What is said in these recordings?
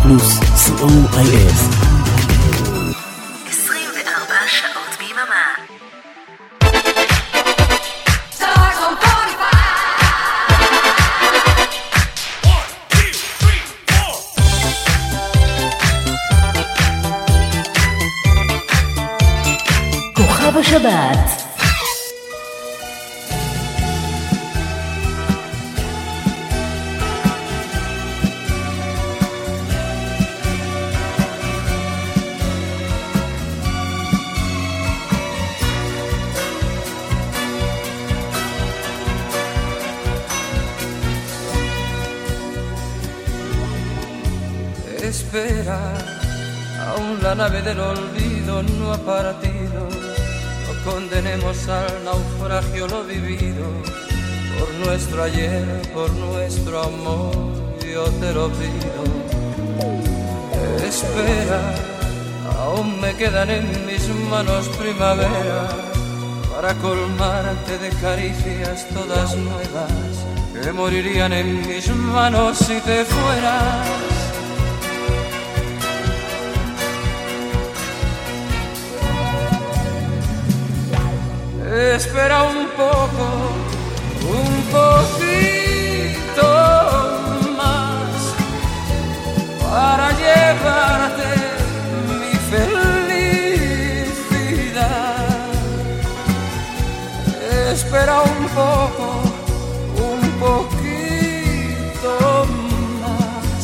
פלוס, COIF. 24 שעות ביממה. כוכב השבת. Espera, aún la nave del olvido no ha partido. No condenemos al naufragio lo vivido. Por nuestro ayer, por nuestro amor, yo te lo pido. Espera, aún me quedan en mis manos primavera para colmarte de caricias todas nuevas que morirían en mis manos si te fueras. Espera un poco, un poquito más para llevarte mi felicidad. Espera un poco, un poquito más.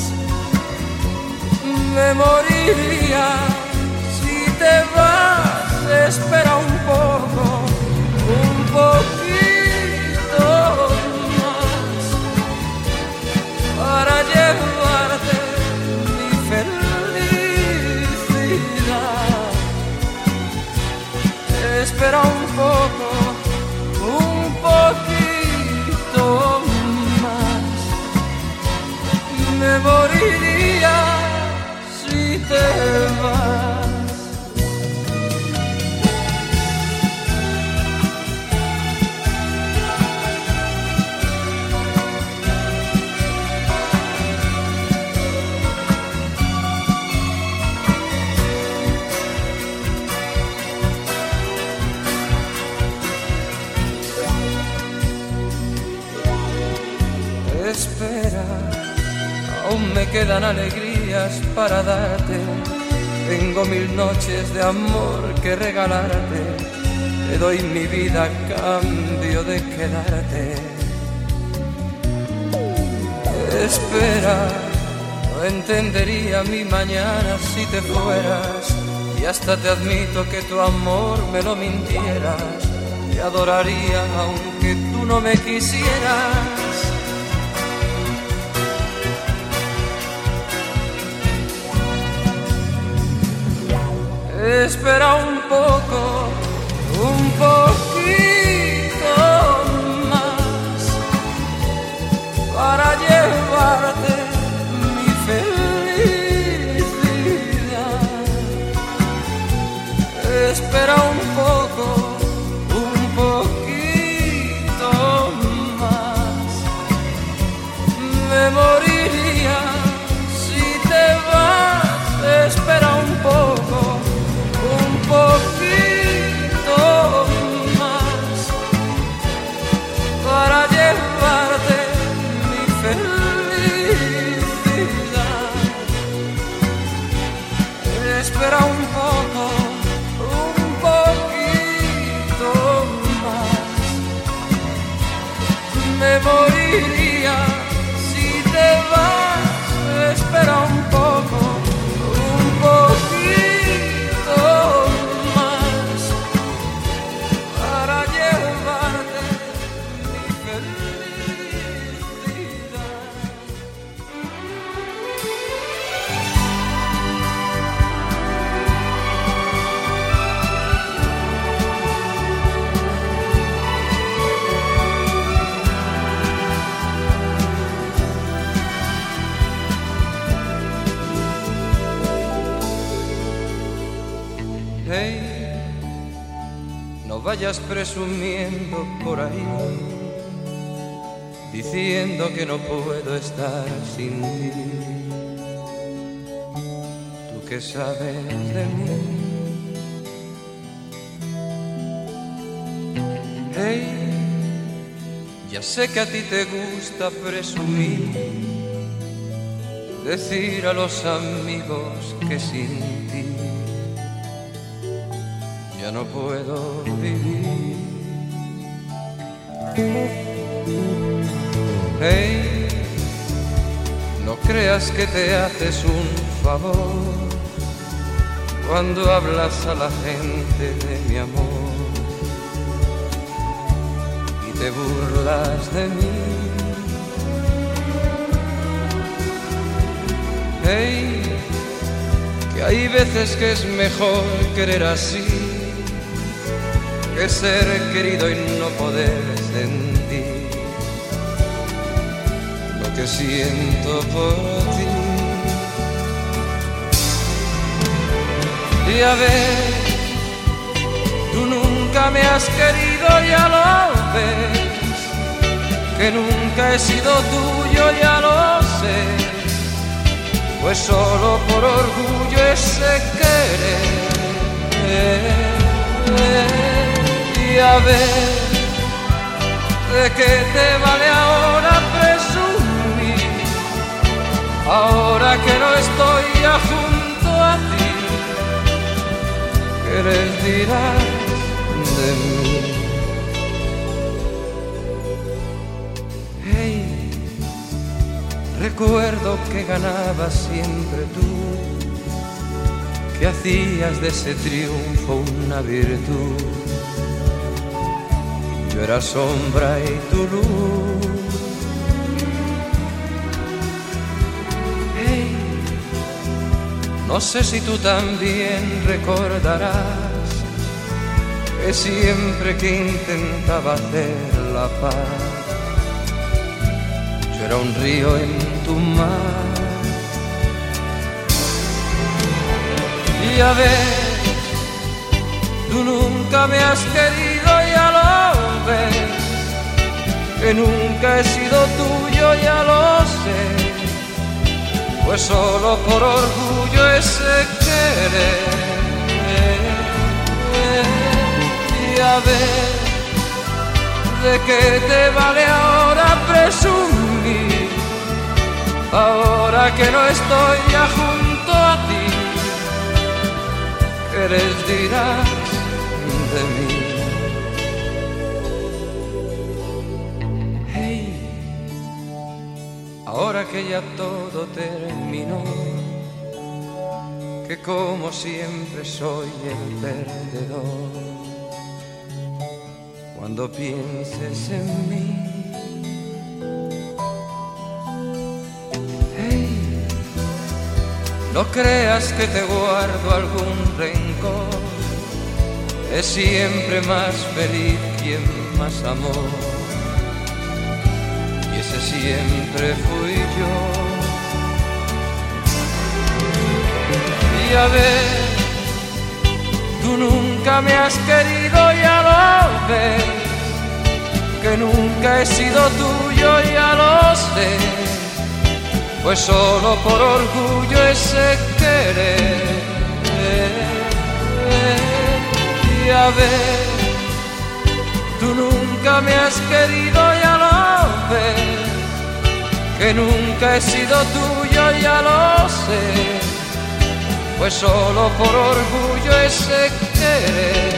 Me moriría si te vas. Espera un poco. Un poquito más para llevarte mi felicidad. Espera un poco, un poquito más. Me moriría si te vas. Espera, aún me quedan alegrías para darte. Tengo 1000 noches de amor que regalarte. Te doy mi vida a cambio de quedarte. Espera, no entendería mi mañana si te fueras. Y hasta te admito que tu amor me lo mintieras. Te adoraría aunque tú no me quisieras. Espera un poco, un poquito más para llevarte mi felicidad. Espera un poco, un poquito más. Me moriría si te vas. Espera un poco. Un poquito más para llevarte mi felicidad. Espera un poco, un poquito más. Me moriría si te vas. Espera un poco, un poquito más para llevarte mi felicidad. Hey, no vayas presumiendo por ahí, diciendo que no puedo estar sin ti. que sabes de mí. Hey, ya sé que a ti te gusta presumir, decir a los amigos que sin ti ya no puedo vivir. Hey, no creas que te haces un favor cuando hablas a la gente de mi amor y te burlas de mí. Hey, que hay veces que es mejor querer así que ser querido y no poder sentir lo que siento por ti. Y a ver, tú nunca me has querido, ya lo ves, que nunca he sido tuyo, ya lo sé, pues solo por orgullo ese querer. Y a ver, ¿de qué te vale ahora presumir? Ahora que no estoy ya junto a ti, ¿qué les dirás de mí? Hey, recuerdo que ganabas siempre tú, que hacías de ese triunfo una virtud. Yo era sombra y tu luz. Hey, no sé si tú también recordarás que siempre que intentaba hacer la paz, yo era un río en tu mar. Y a ver, tú nunca me has querido, ya lo ves, que nunca he sido tuyo, ya lo sé, pues solo por orgullo ese querer. Y a ver, ¿de qué te vale ahora presumir? Ahora que no estoy ya junto a ti, ¿qué les dirás de mí? Hey, ahora que ya todo terminó, que como siempre soy el perdedor, cuando pienses en mí, hey, no creas que te guardo algún rencor, es siempre más feliz quien más amó, y ese siempre fui yo. Y a ver, tú nunca me has querido, ya lo ves, que nunca he sido tuyo, ya lo sé, pues solo por orgullo ese querer. Y a ver, tú nunca me has querido, ya lo ves, que nunca he sido tuyo, ya lo sé, pues solo por orgullo ese querer.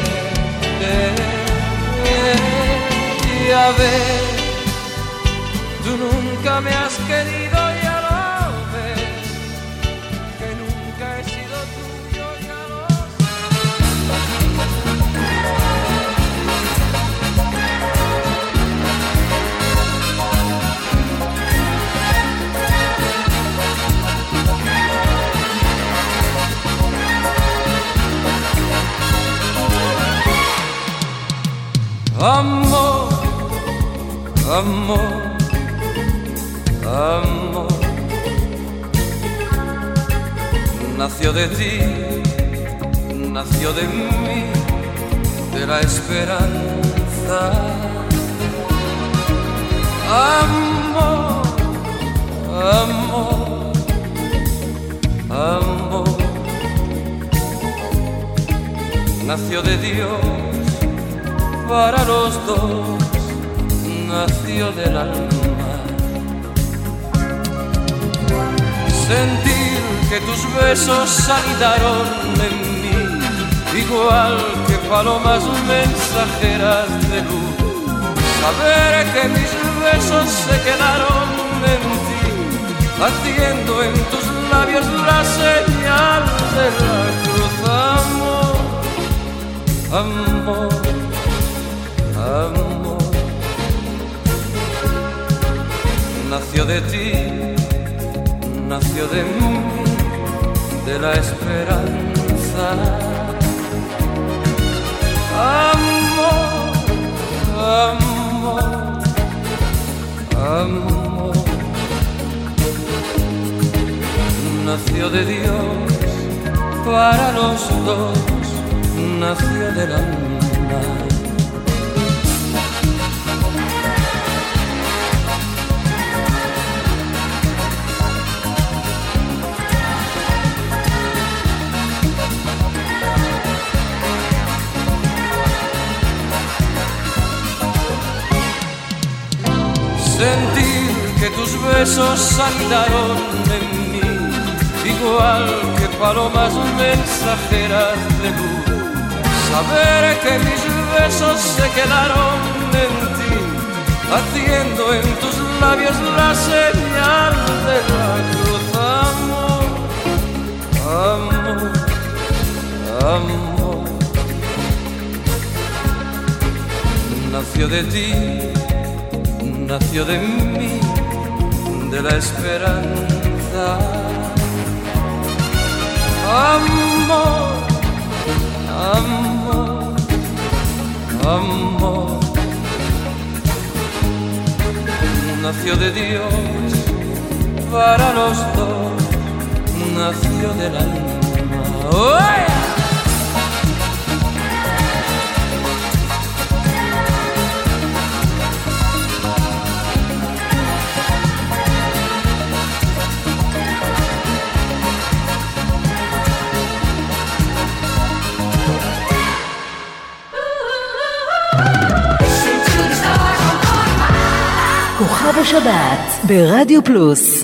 Y a ver, tú nunca me has querido, ya lo ves, que nunca he sido tuyo, ya lo amor, amor, amor, nació de ti, nació de mí, de la esperanza. Amor, amor, amor, nació de Dios para los dos, nació del alma. Sentir que tus besos salidaron en mí, igual que palomas mensajeras de luz. Saber que mis besos se quedaron en ti, haciendo en tus labios la señal de la cruz. Amor, amor, amor, nació de ti, nació de mí, de la esperanza. Amor, amor, amor, nació de Dios para los dos, nació del alma. Sentir que tus besos saltaron en mí, igual que palomas mensajeras de luz. Saber que mis besos se quedaron en ti, haciendo en tus labios la señal de la cruz. Amor, amor, amor, nació de ti, nació de mí, de la esperanza. Amor, amor, amor, nació de Dios para los dos, nació del alma. ¡Oh! כוכב השבת ברדיו פלוס.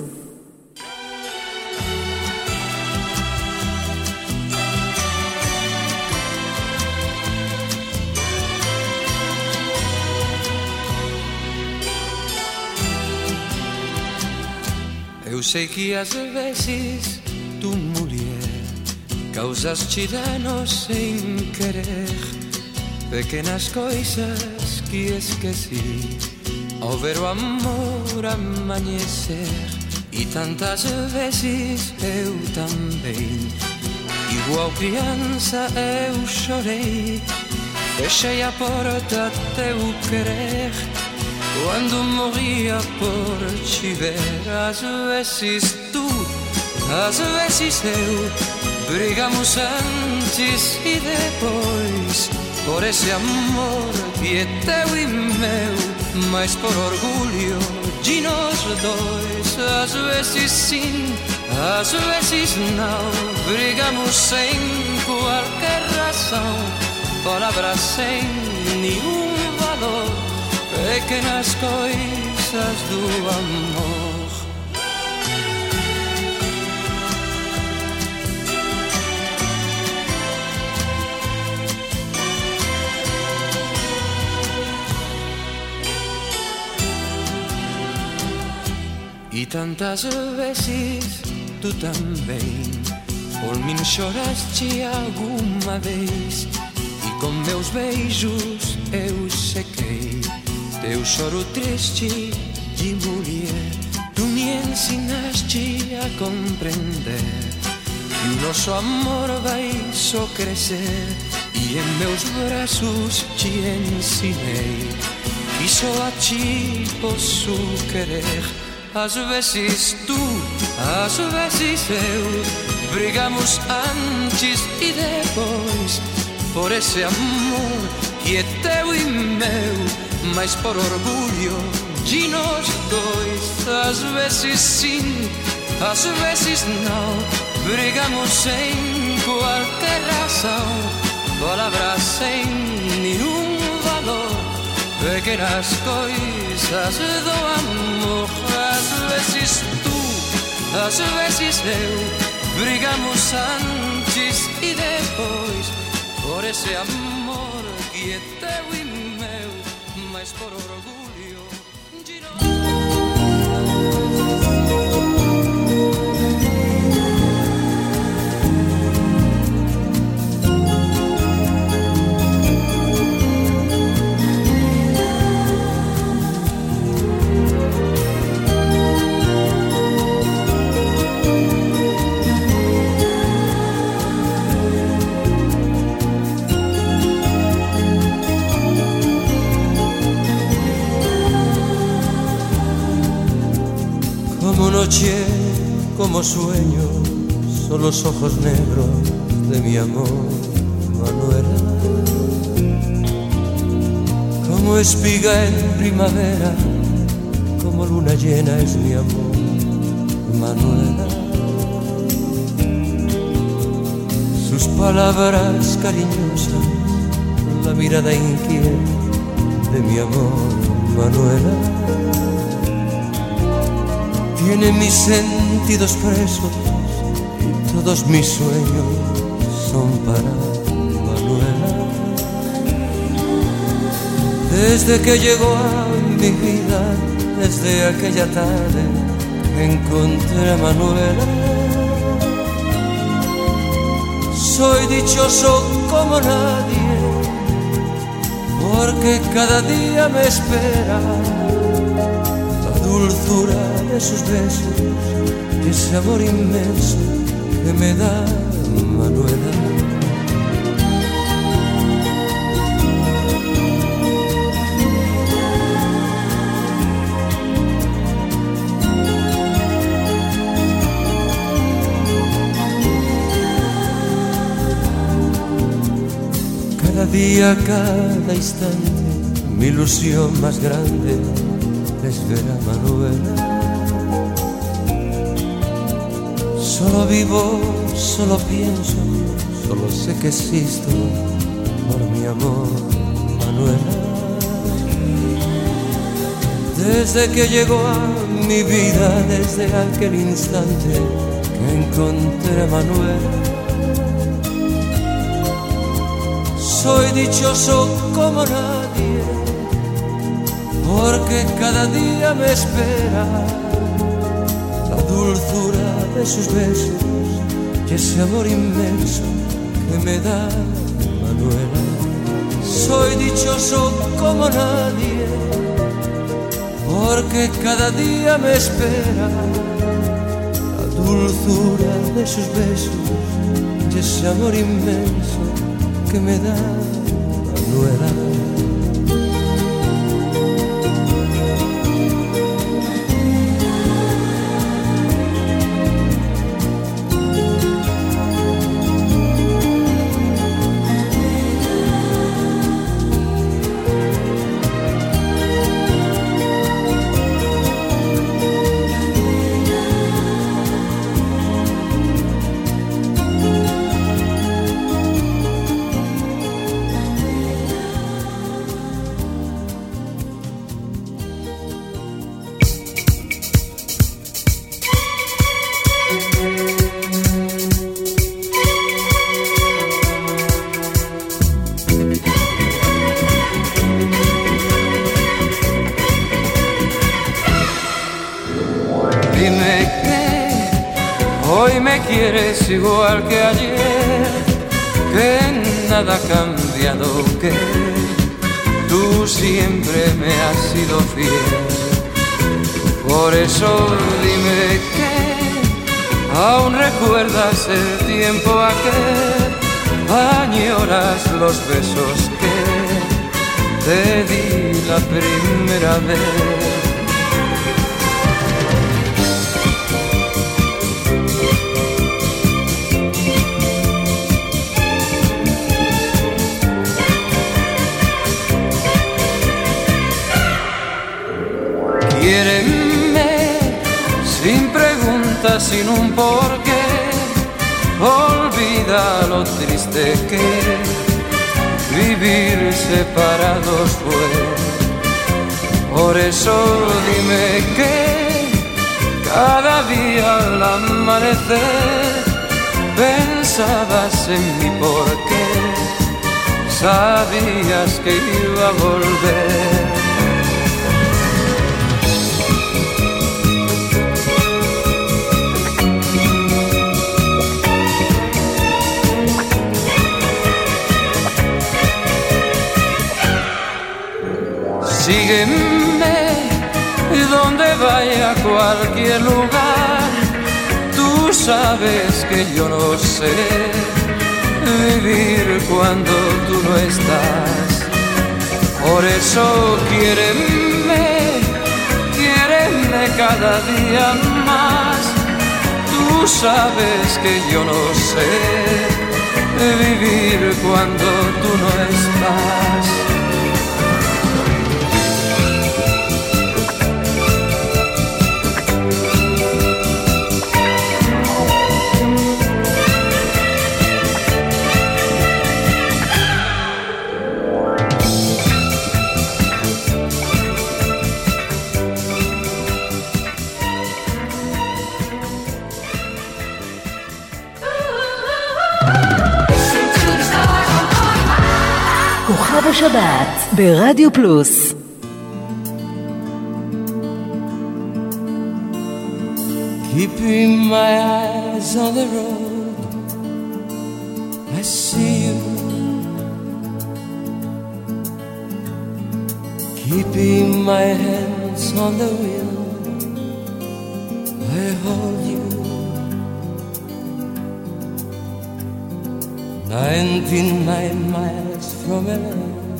Eu sei que às vezes tu, mulher, causas-te danos sem querer, pequenas coisas que esqueci ao ver o amor amanhecer. E tantas vezes eu também, igual criança eu chorei, fechei a porta a teu querer, quando morria por te ver. Às vezes tu, às vezes eu, brigamos antes e depois, por esse amor que é teu e meu, mas por orgulho de nós dois. Às vezes sim, às vezes não, brigamos sem qualquer razão, palavras sem nenhum valor, pequenas coisas do amor. E tantas vezes tu também por mim choraste alguma vez, e com meus beijos eu sequei teu choro triste de mulher. Tu me ensinaste a compreender que o nosso amor vai só crescer, e em meus braços te ensinei que só a ti posso querer. Às vezes tu, às vezes eu, brigamos antes e depois, por esse amor que é teu e meu, mas por orgulho de nós dois. Às vezes sim, às vezes não, brigamos sem qualquer razão, palabras sem nenhum valor, pequenas coisas do amor. Às vezes tu, às vezes eu, brigamos antes e depois, por esse amor que é teu e meu, mas por orgulho de nós. Como noche, como sueño, son los ojos negros de mi amor, Manuela. Como espiga en primavera, como luna llena es mi amor, Manuela. Sus palabras cariñosas, la mirada inquieta de mi amor, Manuela. Tiene mis sentidos presos y todos mis sueños son para Manuela. Desde que llegó a mi vida, desde aquella tarde encontré a Manuela. Soy dichoso como nadie, porque cada día me espera la dulzura de sus besos y ese amor inmenso que me da Manuela. Cada día, cada instante, mi ilusión más grande es ver a Manuela. Solo vivo, solo pienso, solo sé que existo por mi amor, Manuela. Desde que llegó a mi vida, desde aquel instante que encontré a Manuela, soy dichoso como nadie, porque cada día me espera la dulzura de sus besos y ese amor inmenso que me da Manuela. Soy dichoso como nadie, porque cada día me espera la dulzura de sus besos y ese amor inmenso que me da Manuela. Quieres igual que ayer, que nada ha cambiado, que tú siempre me has sido fiel. Por eso dime que aún recuerdas el tiempo aquel, añoras los besos que te di la primera vez. Quiéreme sin preguntas, sin un porqué. Olvida lo triste que vivir separados pues. Por eso dime que cada día al amanecer pensabas en mí porque sabías que iba a volver. Sígueme donde vaya a cualquier lugar. Tú sabes que yo no sé vivir cuando tú no estás. Por eso quiéreme, quiéreme cada día más. Tú sabes que yo no sé vivir cuando tú no estás. כוכב השבת ברדיו פלוס. Keeping my eyes on the road, I see you. Keeping my hands on the wheel, I hold you. 99 miles from LA,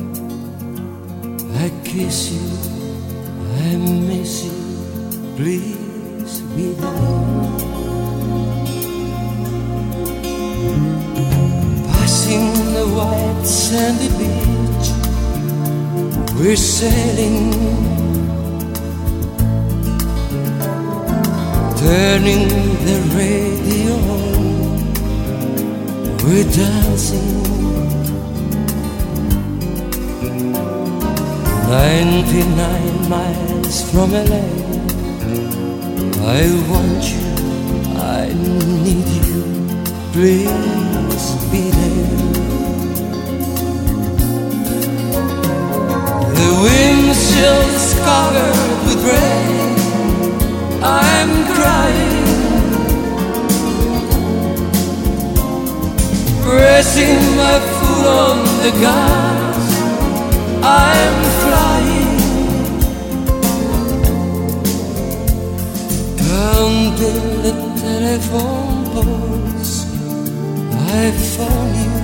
I kiss you, I miss you, please be there. Passing the white sandy beach, we're sailing, turning the radio on, we're dancing. 99 miles from LA, I want you, I need you, please be there. The windshield's covered with rain, I'm crying, pressing my foot on the gas, I'm flying, counting the telephone poles, I found you,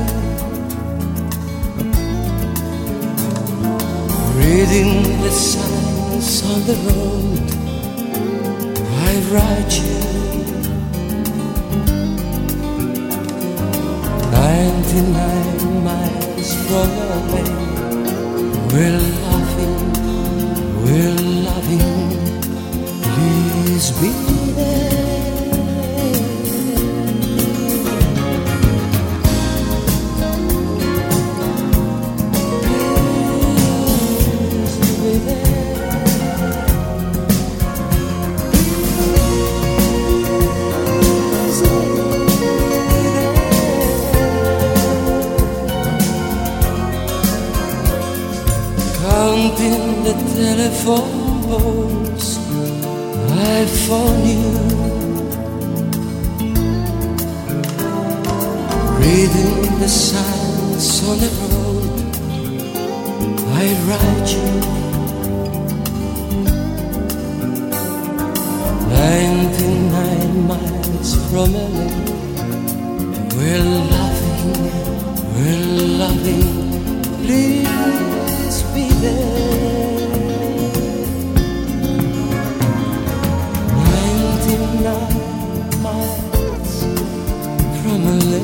reading the signs on the road, I write you. 99 miles from LA, we're loving, please be there. Please be there. Counting the telephone poles, I phone you, reading the signs on the road, I write you. 99 miles from LA, we're loving, please be there. 99 miles from LA,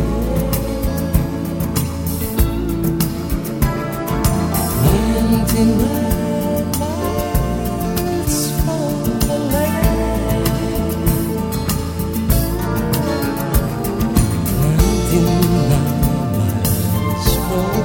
99 miles from LA, 99 miles from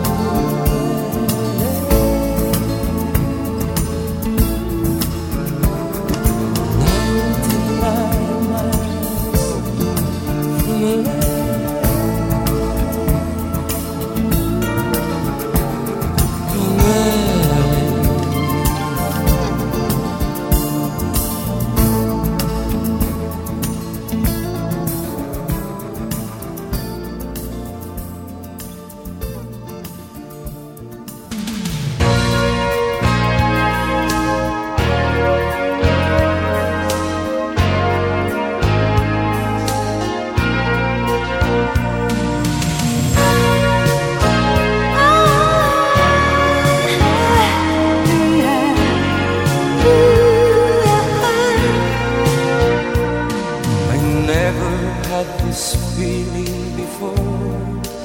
this feeling before.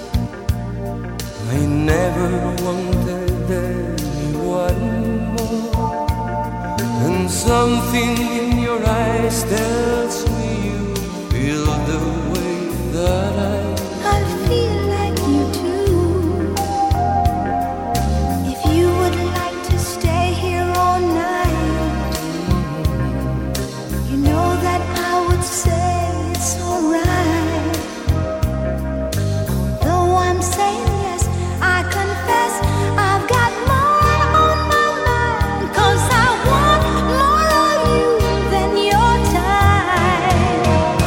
I never wanted anyone more. And something in your eyes tells me you feel the way that I feel like you too. If you would like to stay here all night, you know that I would say it's alright. Though I'm saying yes, I confess I've got more on my mind, 'cause I want more of you than your time.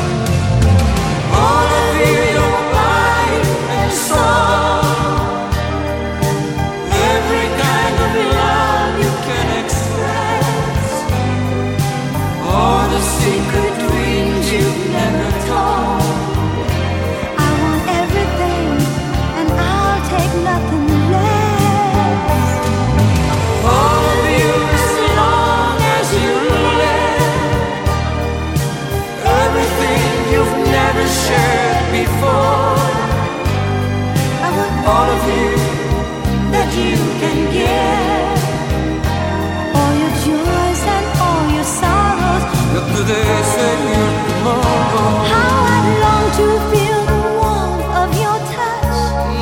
all of you, your body and soul, every kind of love you can express, all the secret dreams you've never told. I want everything, and I'll take nothing less. All of you, as long as you live, everything you've never shared before. I want All of you that you can give. all your joys and all your sorrows. Look today, say tomorrow. How I'd long to feel the warmth of your touch.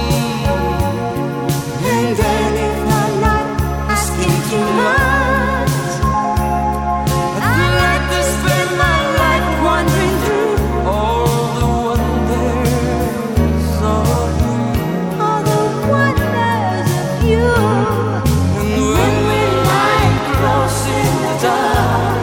And then if I'm not asking too much, I'd like to spend my life wandering through All the wonders of you. all the wonders of you. And when we lie close in the dark,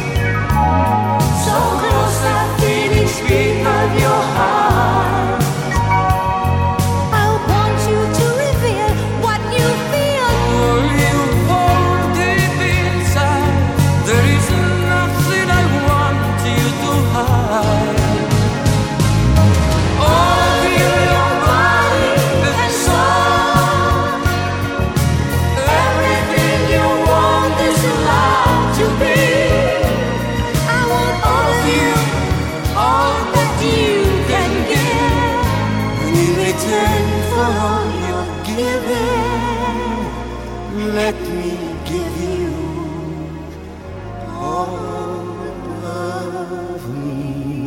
so close that feeling speak of your heart. I want you to reveal what you feel. All you hold deep inside, there is nothing I want you to hide. All of you, your body and soul, everything you want is allowed to be. I want all of you, all that you can give. And in return for all your giving, let me give you all of me.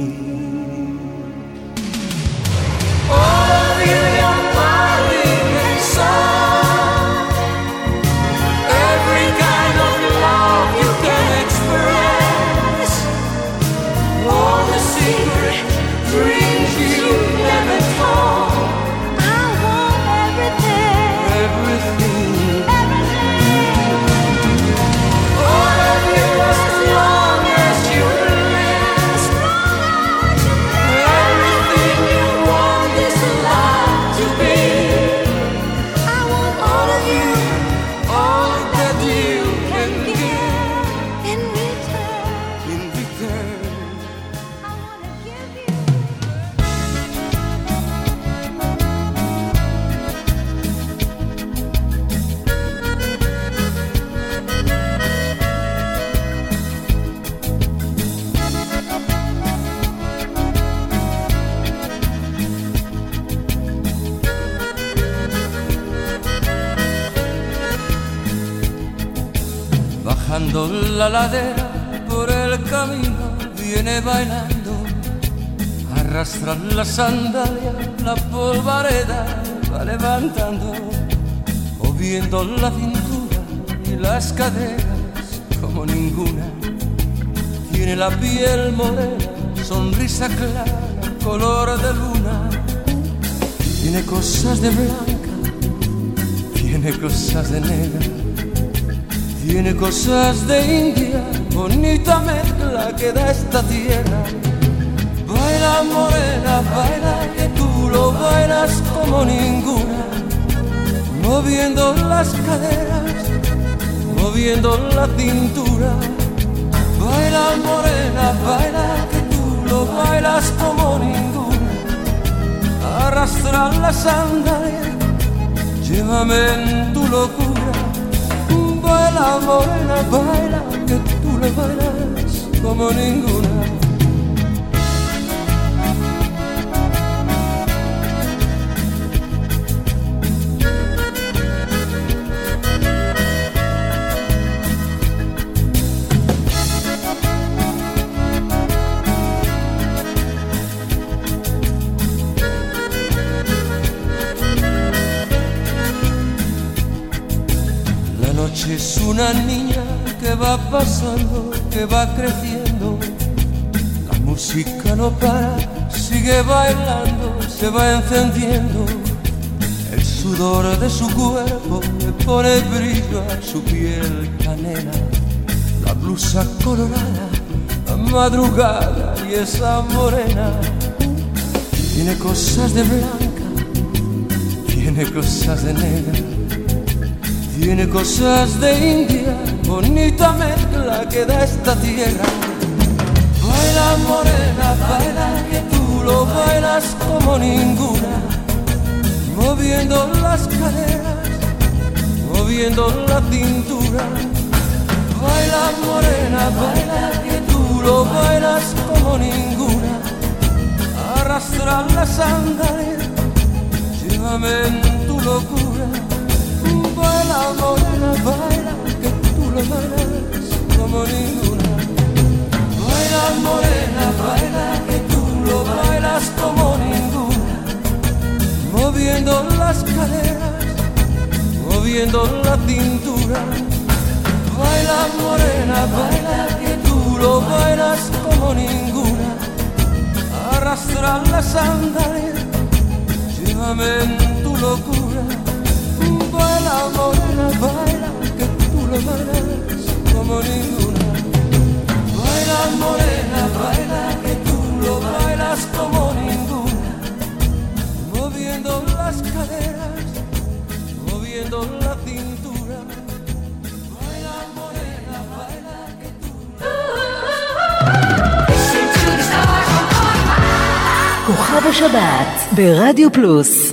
All of you, your body and soul, every kind of love you can express, all the secret dreams you never told. I want everything, Everything, everything. all of you, as long as you live, everything you want is allowed to be. I want All of you, all that you can give. in return. In return, I want to give you. bajando la ladera por el camino viene bailando, arrastra la sandalia, la polvareda va levantando, moviendo la cintura y las caderas como ninguna. Tiene la piel morena, sonrisa clara, color de luna. Tiene cosas de blanca, tiene cosas de negra. Tiene cosas de India, bonita mezcla que da esta tierra. Baila morena, baila que tú lo bailas como ninguna, moviendo las caderas, moviendo la cintura. Baila morena, baila que tú lo bailas como ninguna. Arrastra la sandalia, llévame en tu locura. Baila morena, baila que tú le bailas como ninguna. va pasando, que va creciendo. La música no para, sigue bailando, se va encendiendo. El sudor de su cuerpo le pone brillo a su piel canela. La blusa colorada, la madrugada y esa morena. Tiene cosas de blanca, tiene cosas de negra, tiene cosas de India, bonita mezcla que da esta tierra. Baila morena, baila que tú lo bailas como ninguna, moviendo las caderas, moviendo la cintura. Baila morena, baila que tú lo bailas como ninguna. Arrastra las sandalias, llévame en tu locura. Baila morena, baila que tú lo bailas como ninguna. Baila morena, baila que tú lo bailas como ninguna. Moviendo las caderas, moviendo la cintura. Baila morena, baila que tú lo bailas como ninguna. Arrastra las sandalias, llévame en tu locura. Baila morena, baila que tú lo bailas como ninguna. Baila morena, baila que tú lo bailas como ninguna. Moviendo las caderas, moviendo la cintura. Baila morena, baila que tú כוכב השבת ברדיו פלוס.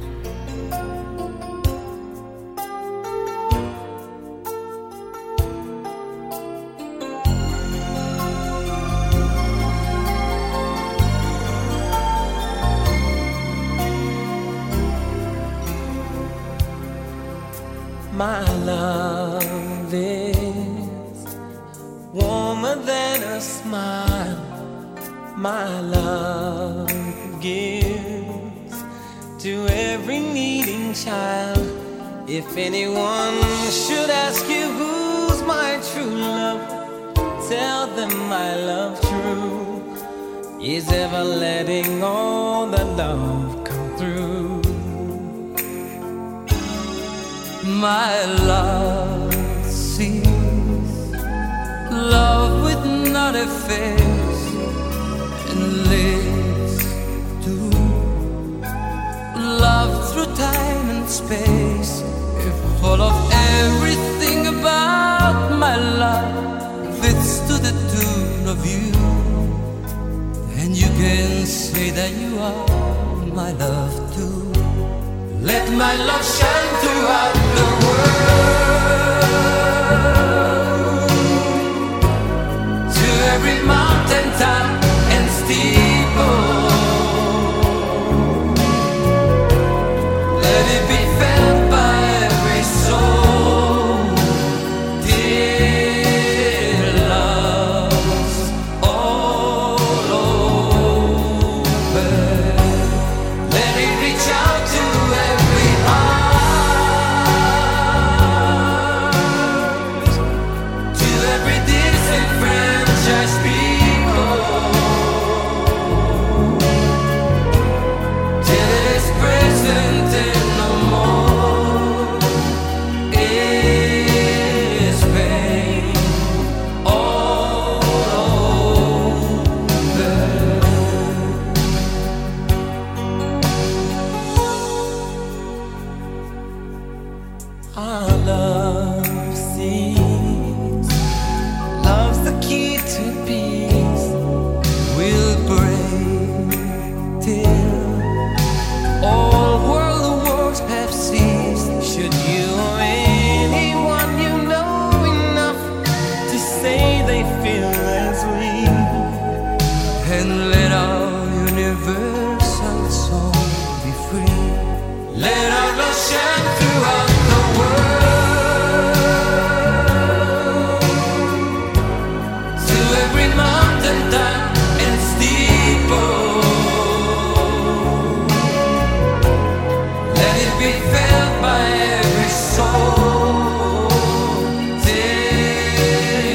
My love is warmer than a smile. My love gives to every needing child. If anyone should ask you who's my true love, tell them my love true is ever letting all the love come through. My love sees love with not a face and lives to love through time and space. If all of everything about my love fits to the tune of you, then you can say that you are my love too. Let my love shine throughout the world, to every mountain top and steeple. Let it be felt by every soul. Dear love's all over. Let it reach out to every heart, to every disenfranchised people, till it is present and no more is pain all over. Our love sees, love's the key to peace. We'll break till all world wars have ceased. Should you or anyone you know enough to say they feel as we, and let our universal soul be free. Let our love shine throughout the world, to every mountain top and steeple. Let it be felt by every soul. Till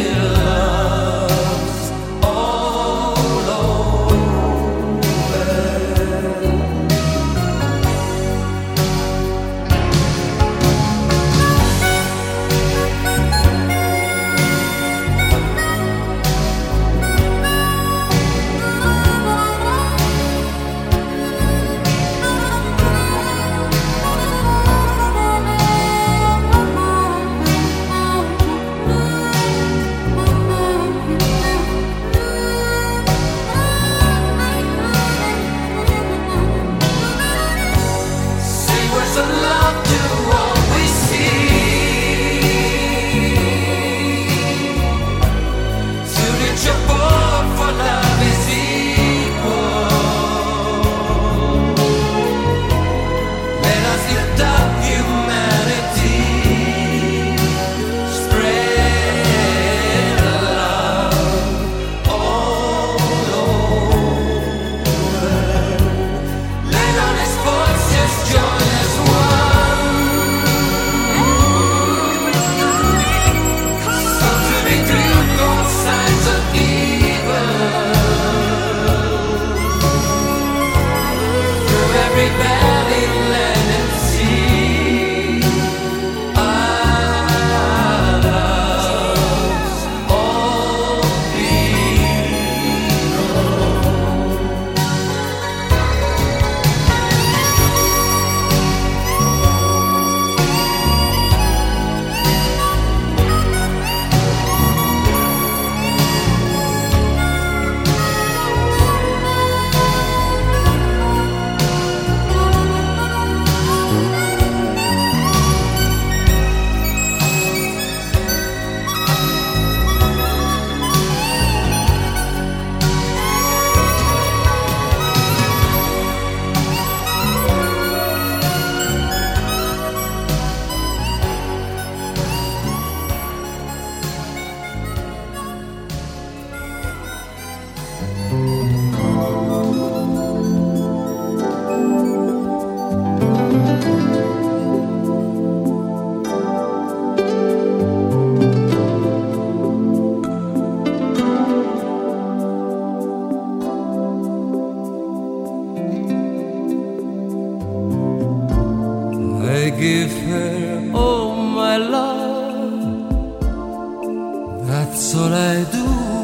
That's all I do.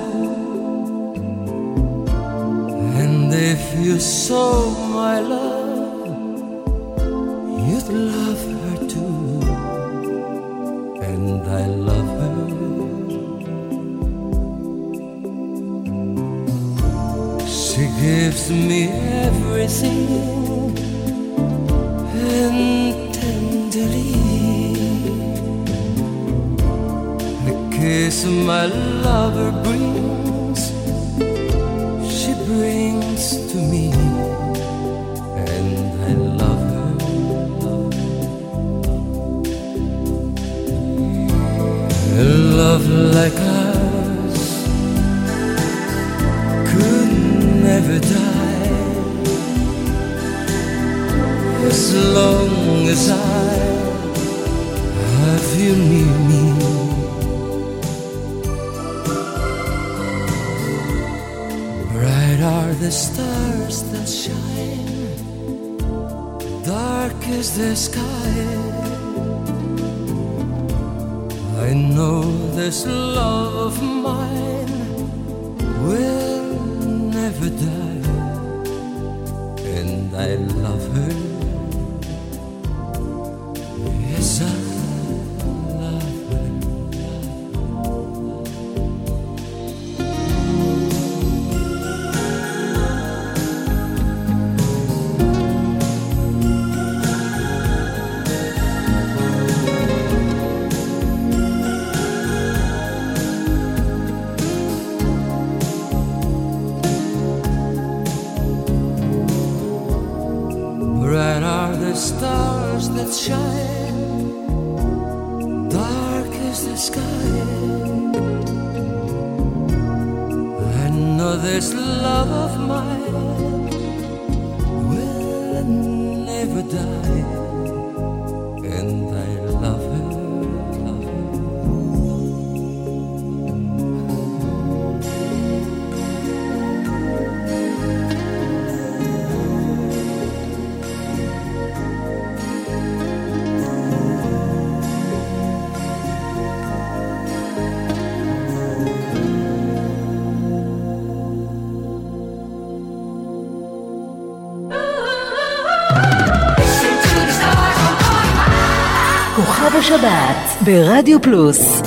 And if you saw my love, you'd love her too. And I love her. She gives me everything, and tenderly the kiss my lover brings, she brings to me, and I love her. A love like ours could never die, as long as I have you near me. Bright are the stars that shine, dark is the sky. I know this love of mine will never die, and I love her. Yes, I love her. Bright are the stars that shine, dark is the sky. I know this love of mine will never die, and I love her. כוכב השבת ברדיו פלוס.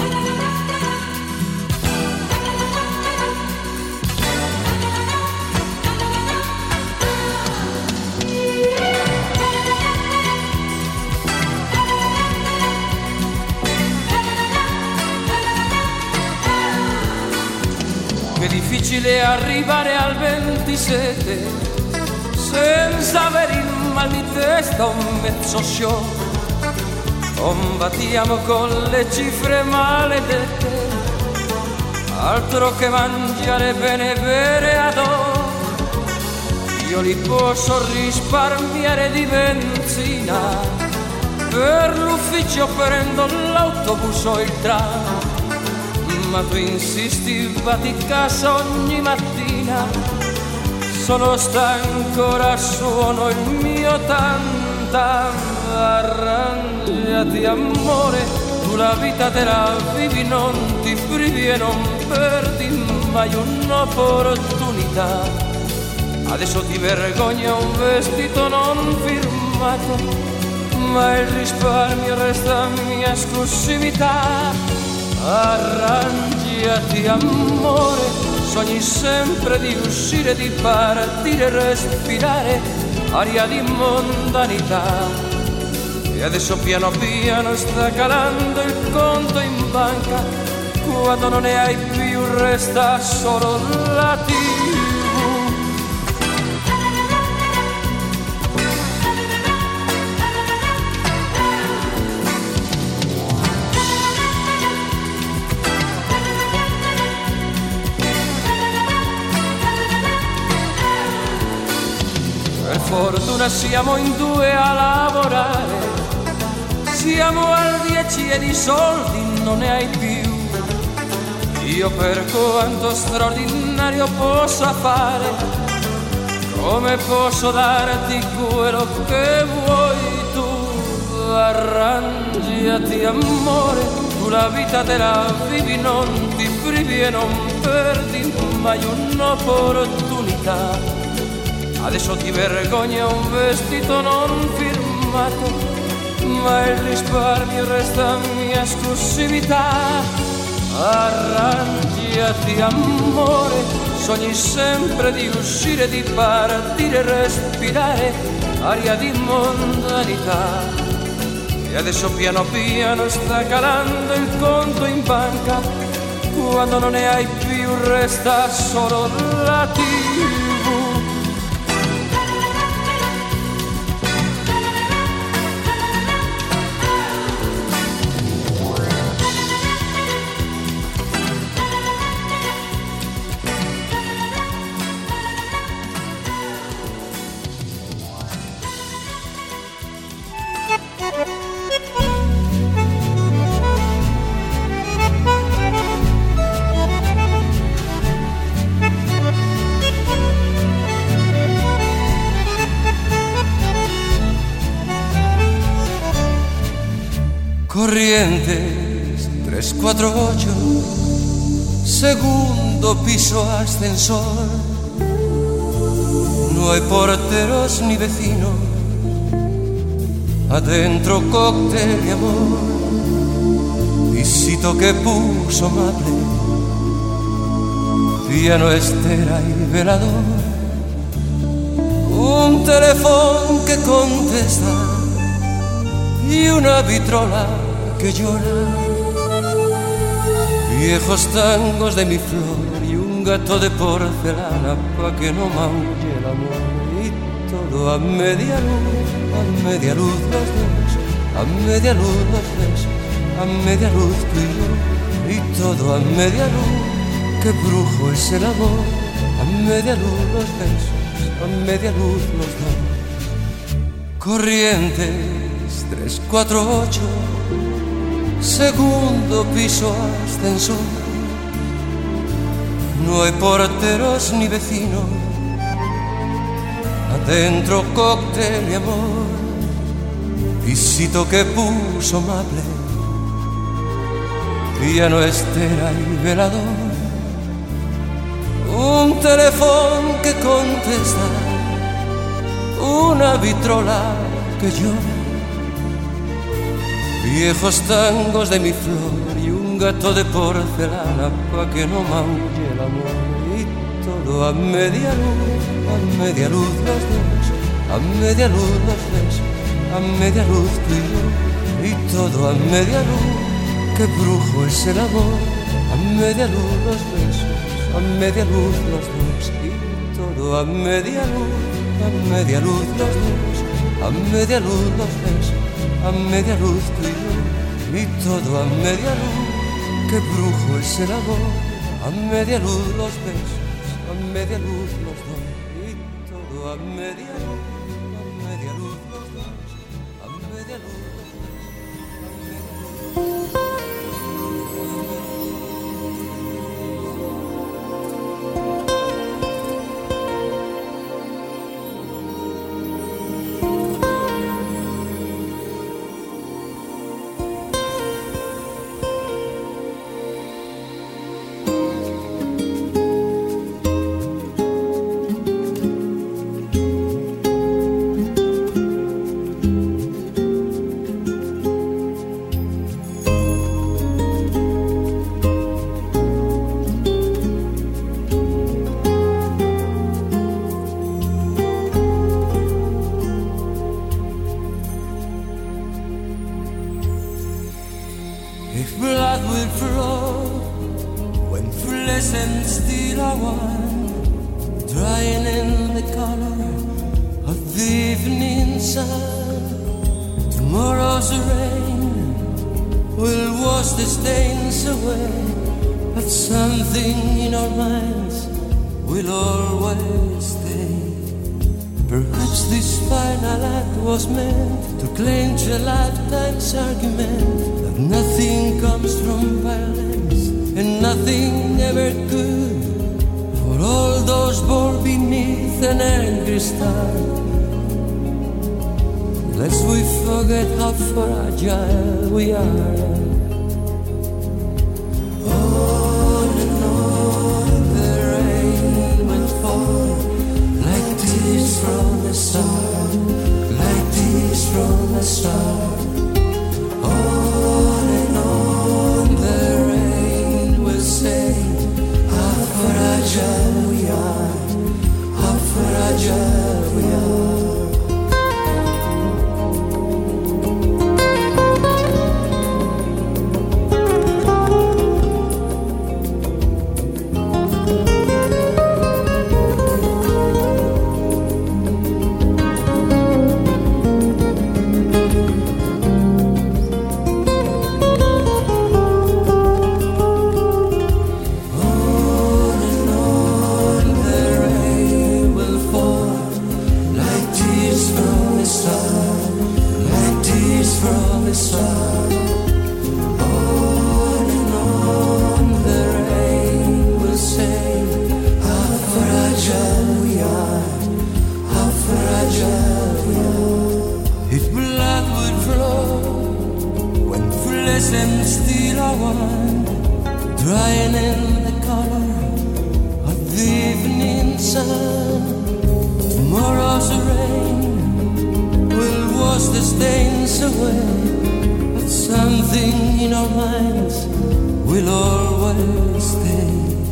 Che difficile arrivare al 27 senza avere il mal di testa un mezzo show. Combattiamo con le cifre maledette, altro che mangiare bene e bere ad hoc. Io li posso risparmiare di benzina, per l'ufficio prendo l'autobus o il tram. Ma tu insisti, vatti a casa ogni mattina, sono stanco, ora suono il mio tam-tam. Arrangiati amore, tu la vita te la vivi, non ti privi e non perdi mai un'opportunità. Adesso ti vergogna un vestito non firmato, ma il risparmio resta mia esclusività. Arrangiati amore, sogni sempre di uscire, di partire, respirare aria di mondanità. E adesso piano piano sta calando il conto in banca, quando non ne hai più resta solo la TV. Per fortuna siamo in due a lavorare, siamo al 10 e di soldi non ne hai più. Io per quanto straordinario possa fare, come posso darti quello che vuoi tu? Arrangiati amore, tu sulla vita te la vivi, non ti privi e non perdi mai un'opportunità. Adesso ti vergogna un vestito non firmato, ma il risparmio resta mia esclusività. Arrangiati amore, sogni sempre di uscire, di partire, respirare aria di mondanità. E adesso piano piano sta calando il conto in banca, quando non ne hai più resta solo la TV. Corrientes 348, segundo piso ascensor. No hay porteros ni vecinos, adentro cóctel y amor. Visito que puso amable, piano, estera y velador. Un teléfono que contesta y una vitrola que llora, viejos tangos de mi flor y un gato de porcelana pa' que no maulle el amor. Y todo a media luz los dos, a media luz los besos, a media luz tú y yo. Y todo a media luz, qué brujo es el amor. A media luz los besos, a media luz los dos. Corrientes 348, segundo piso ascensor. No hay porteros ni vecinos, adentro cóctel y amor. Visito que puso amable, piano, estera y velador. Un teléfono que contesta, una vitrola que llora, viejos tangos de mi flor y un gato de porcelana pa' que no maulle el amor. Y todo a media luz los dos, a media luz los besos, a media luz tú y yo. Y todo a media luz, qué brujo es el amor. A media luz los besos, a media luz los dos. Y todo a media luz los dos, a media luz los besos, a media luz tú y yo. Y todo a media luz, qué brujo es el amor. A media luz los besos, a media luz los dos. Y todo a media luz los dos, a media luz los besos, a media luz. Argument that nothing comes from violence and nothing ever could. For all those born beneath an angry star, lest we forget how fragile we are. wash the stains away, but something in our minds will always stay.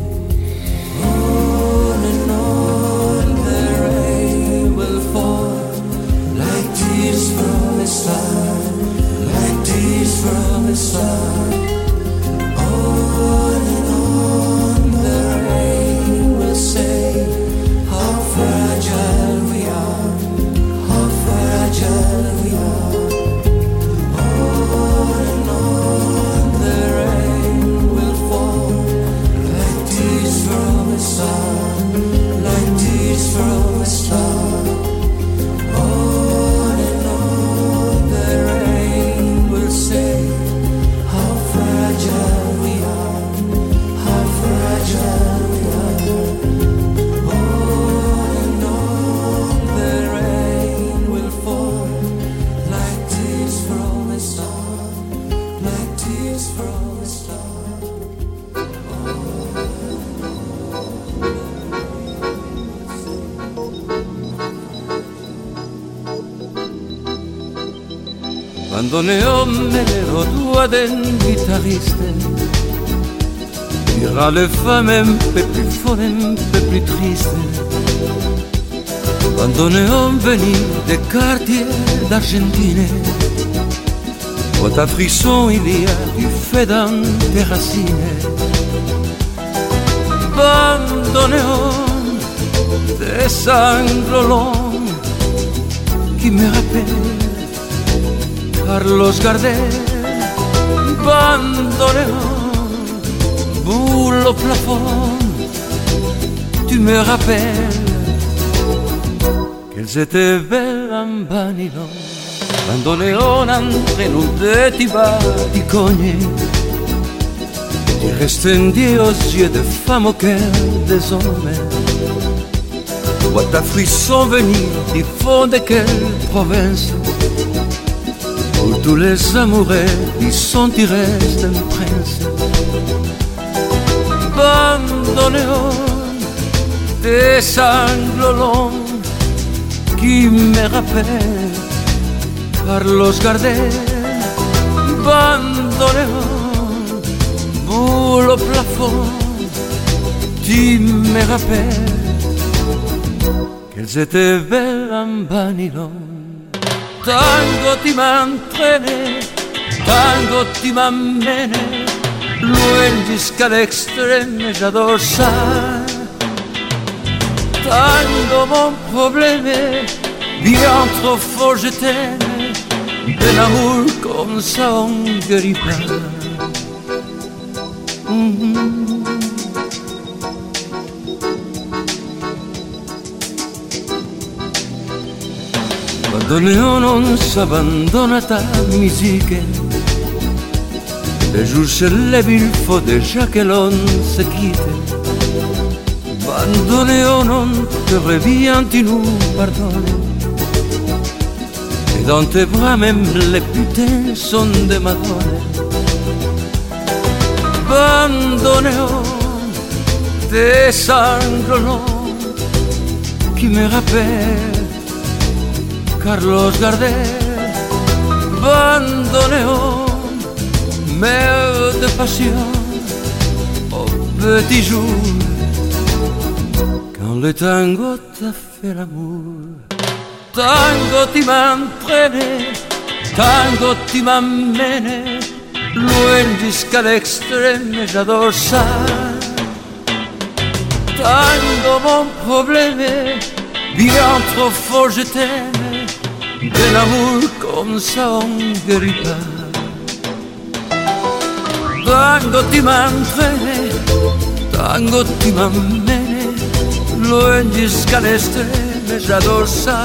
On and on the rain will fall, like tears from a star, like tears from a star. On and on the rain will say how fragile we are, how fragile we are. On and on the rain will fall, like tears from a star, like tears from a star. On and on the rain will say how fragile we are, how fragile we are. On and on the rain will fall, like tears from a star, like tears from a star. Quando ne ho meno due del chitarriste, dira le femmes un peu plus folles, un peu plus tristes. Quando ne ho venu des quartiers d'Argentine, quanta frisson il y a du fait dans tes racines. Quando ne ho des sanglots longs qui me rappellent Carlos Gardel, bandoneon, boule au plafond, tu me rappelles qu'elles étaient belles en Banilon. Bandoneon entre nous deux tibaticognes, tu restendi aux yeux de femmes au cœur des hommes. Vois ta frisson venir du fond de quelle province, où tous les amoureux y sont tirés d'un prince. Bandoneon, tes sanglots longs qui me rappellent Carlos Gardel. Bandoneon, boule au plafond, tu me rappelles qu'elles étaient belles en Banilon. Tango ti m'entraîne, tango ti m'emmène, loin jusqu'à l'extrême, j'adore ça. Tango mon problème, bien trop fort je t'aime, d'un amour comme ça on ne guérit pas. Bandoneon non s'abbandonne à ta musique, le jour se lève, il faut déjà que l'on se quitte. Bandoneon on te revient, tu nous pardonnes, et dans tes bras même les putains sont de Madone. Bandoneon, tes sanglots longs qui me rappellent Carlos Gardel. Bandoneon, mère de passion, au petit jour, quand le tango t'a fait l'amour. Tango ti m'entraîne, tango ti m'emmène, loin jusqu'à l'extrême, j'adore ça. Tango mon problème, bien trop fort je t'aime, de l'amour comme ça on ne guérit pas. Tango ti m'entraîne, tango ti m'emmène, loin jusqu'à l'extrême, j'adore ça.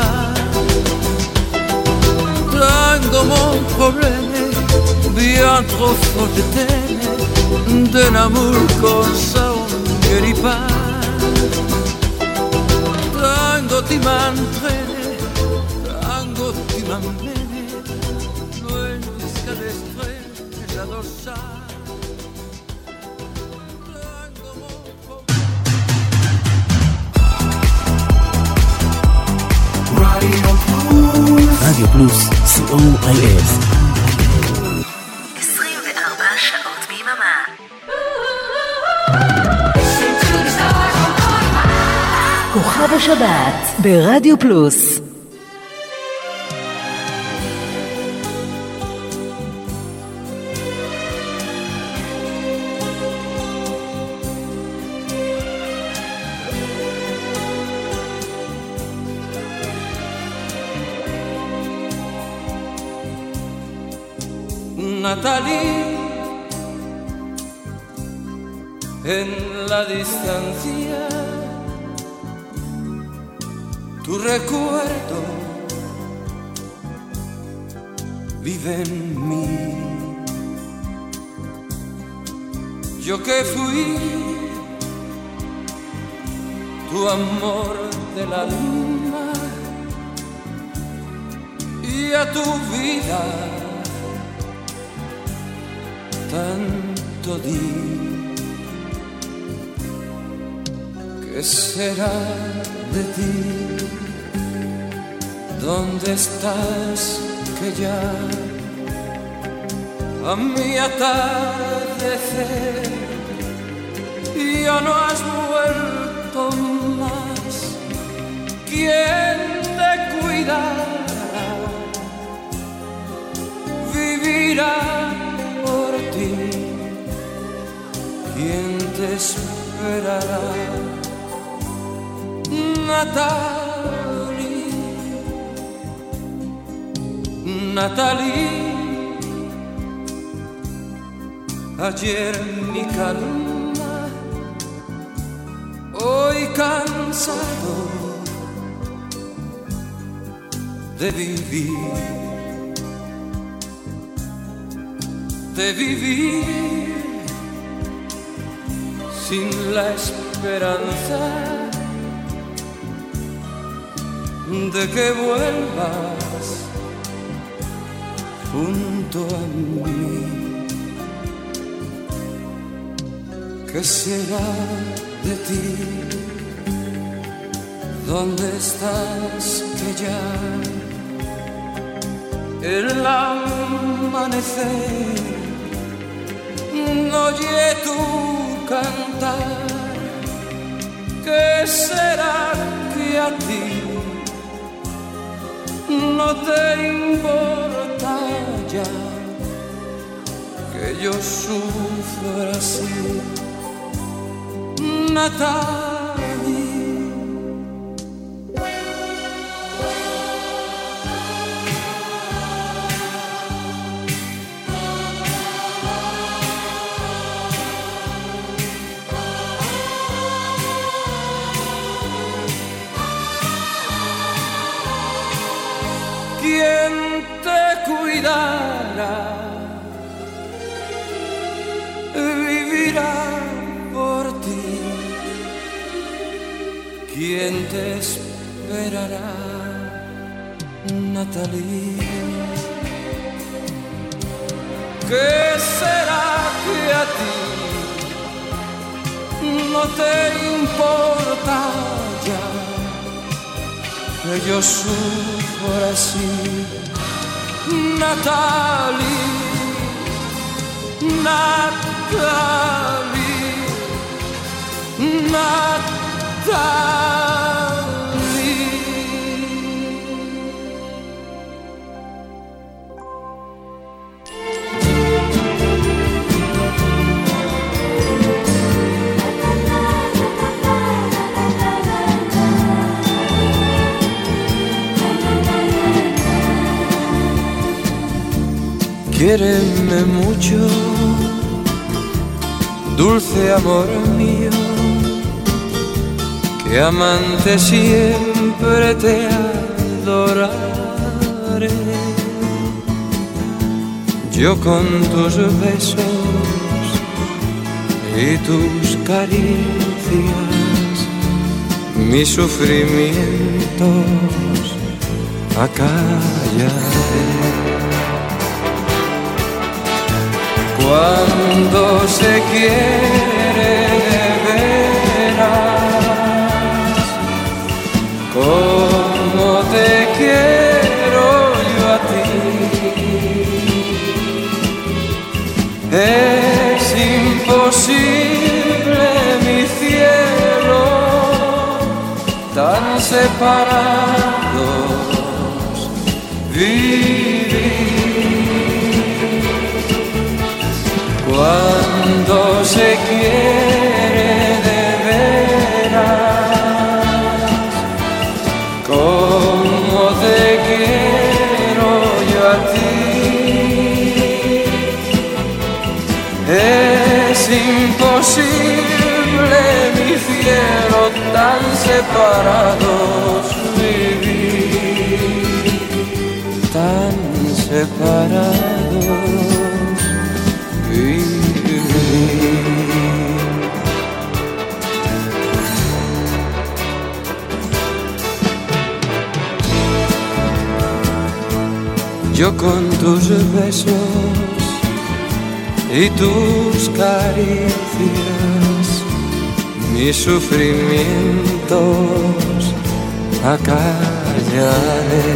Tango mon problème, bien trop fort je t'aime, d'un amour comme ça on ne guérit pas. Tango ti m'entraîne, tango ti m'emmène, loin jusqu'à l'extrême, j'adore ça. Tango mon problème. רדיו פלוס, COIS. 24 שעות ביממה. כוכב השבת ברדיו פלוס. Natalie, en la distancia, tu recuerdo vive en mí. Yo que fui tu amor del alma y a tu vida tanto di. ¿Qué será de ti? ¿Dónde estás? Que ya a mi atardecer ya no has vuelto más. ¿Quién te cuidará? Vivirá por ti. ¿Quién te esperará? Natalie, Natalie, ayer mi calma, hoy cansado de vivir sin la esperanza de que vuelvas junto a mí. ¿Qué será de ti? ¿Dónde estás? Que ya el amanecer no oye tu cantar. ¿Qué será que a ti no te importa ya que yo sufra así? Natalie, ¿quién te cuidará? Vivirá por ti. ¿Quién te esperará? Natalie. ¿Qué será que a ti no te importa ya que yo sufro así? Natalie, Natalie, Natalie. Quiéreme mucho, dulce amor mío, que amante siempre te adoraré. Yo con tus besos y tus caricias mis sufrimientos acallaré. Cuando se quiere de veras, como te quiero yo. separados vivir. Cuando se quiere de veras, como te quiero yo a ti, es imposible, mi cielo, tan separados vivir, tan separados vivir. Yo con tus besos y tus caricias, mis sufrimientos acallaré.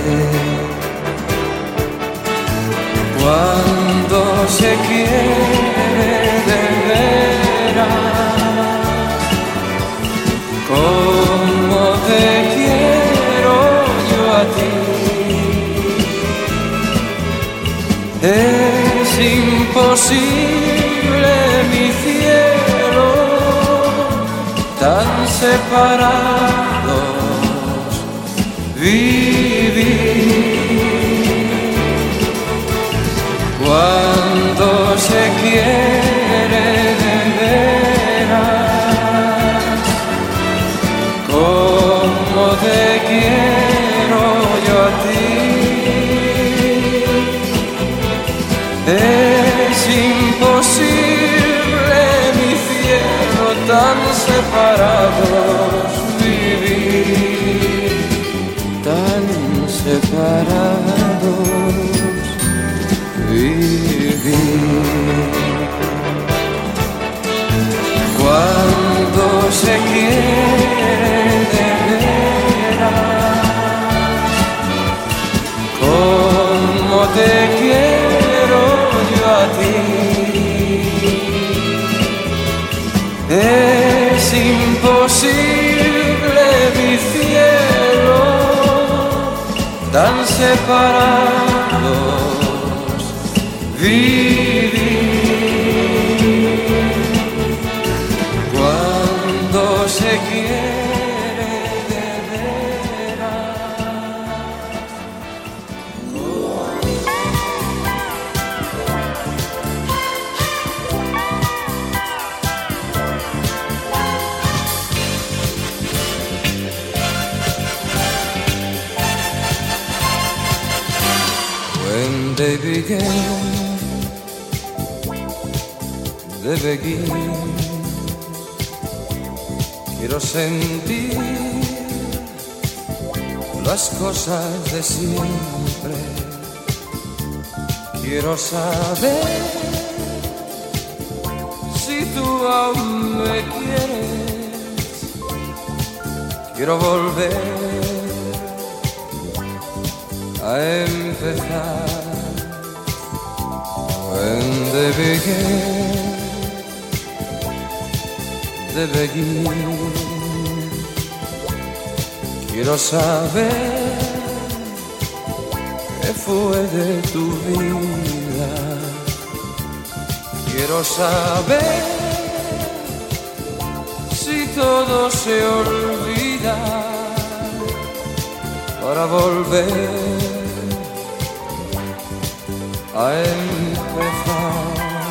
Cuando se quiere de veras, como te quiero yo a ti, es imposible, mi cielo, tan separados vivir. Cuando se quiere de veras, como te quiero yo a ti, es imposible, mi cielo, tan separados vivir, tan separados vivir. Cuando se quiere de veras, como te quiero yo a ti, es imposible, mi cielo, tan separados vivir. Cuando se quiere de veras. When they began, they begin. Quiero sentir las cosas de siempre. Quiero saber si tú aún me quieres. Quiero volver a empezar. When they began, they begin. Quiero saber qué fue de tu vida. Quiero saber si todo se olvida para volver a empezar.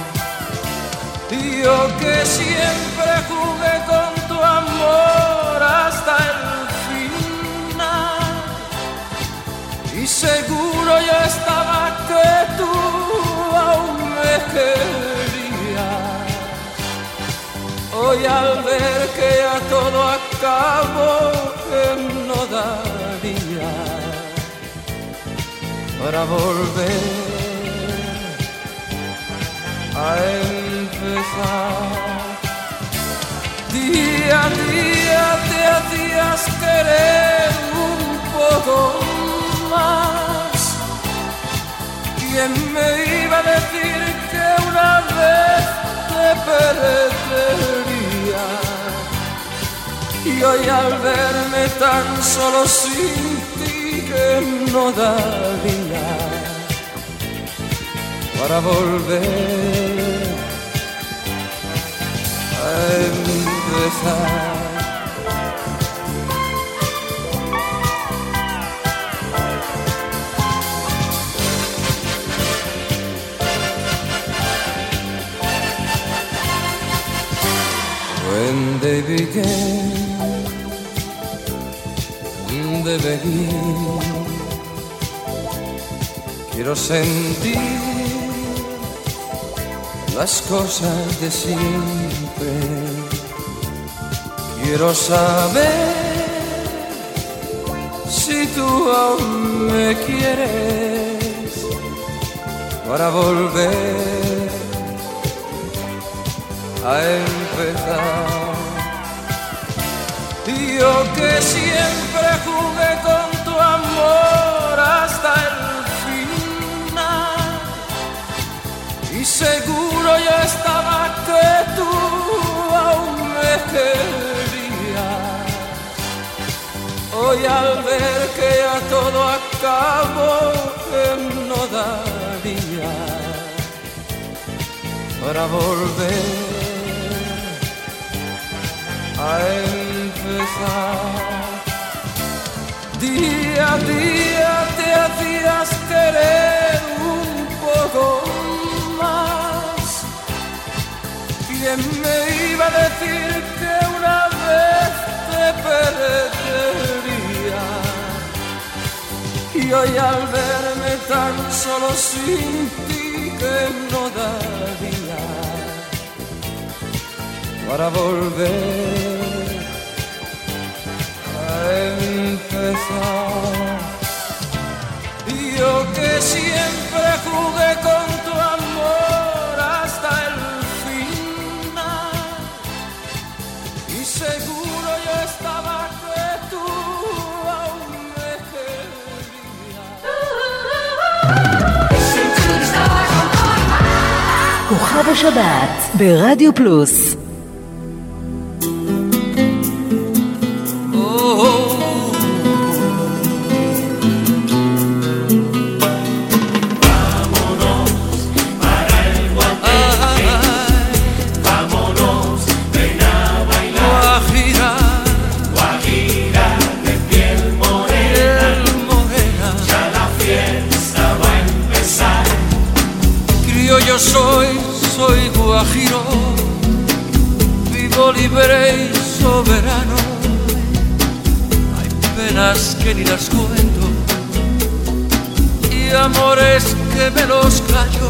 Yo que siempre jugué con tu amor hasta el final, y seguro yo estaba que tú aún me querías. Hoy al ver que ya todo acabó, que no daría para volver a empezar. Día a día te hacías querer un poco más. ¿Quién me iba a decir que una vez te perdería? Y hoy al verme tan solo sin ti que no daría para volver a empezar. When they began de venir, quiero sentir las cosas de siempre. Quiero saber si tú aún me quieres para volver a empezar. Yo que siempre jugué con tu amor hasta el final, y seguro yo estaba que tú aún me querías. Hoy al ver que ya todo acabó, que no daría para volver a empezar. Día a día te hacías querer un poco más. ¿Quién me iba a decir que una vez te perdería? Y hoy al verme tan solo sin ti que no daría para volver a empezar. Y yo que siempre jugué con tu amor hasta el final, y seguro yo estaba que tú aún me querías. כוכב השבת ברדיו פלוס. Soy guajiro, vivo libre y soberano. Hay penas que ni las cuento y amores que me los callo.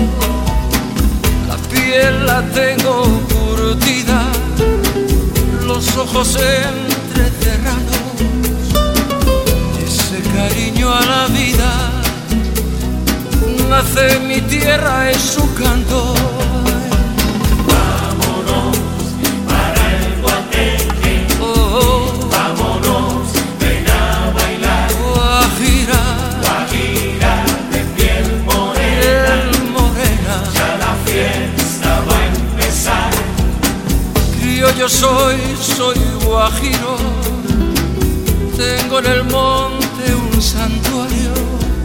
La piel la tengo curtida, los ojos entrecerrados, ese cariño a la vida nace mi tierra en su canto. Vámonos para el Guateque. Vámonos, ven a bailar. Guajira, Guajira de piel morena. Ya la fiesta va a empezar. Criollo soy guajiro. Tengo en el monte un santuario.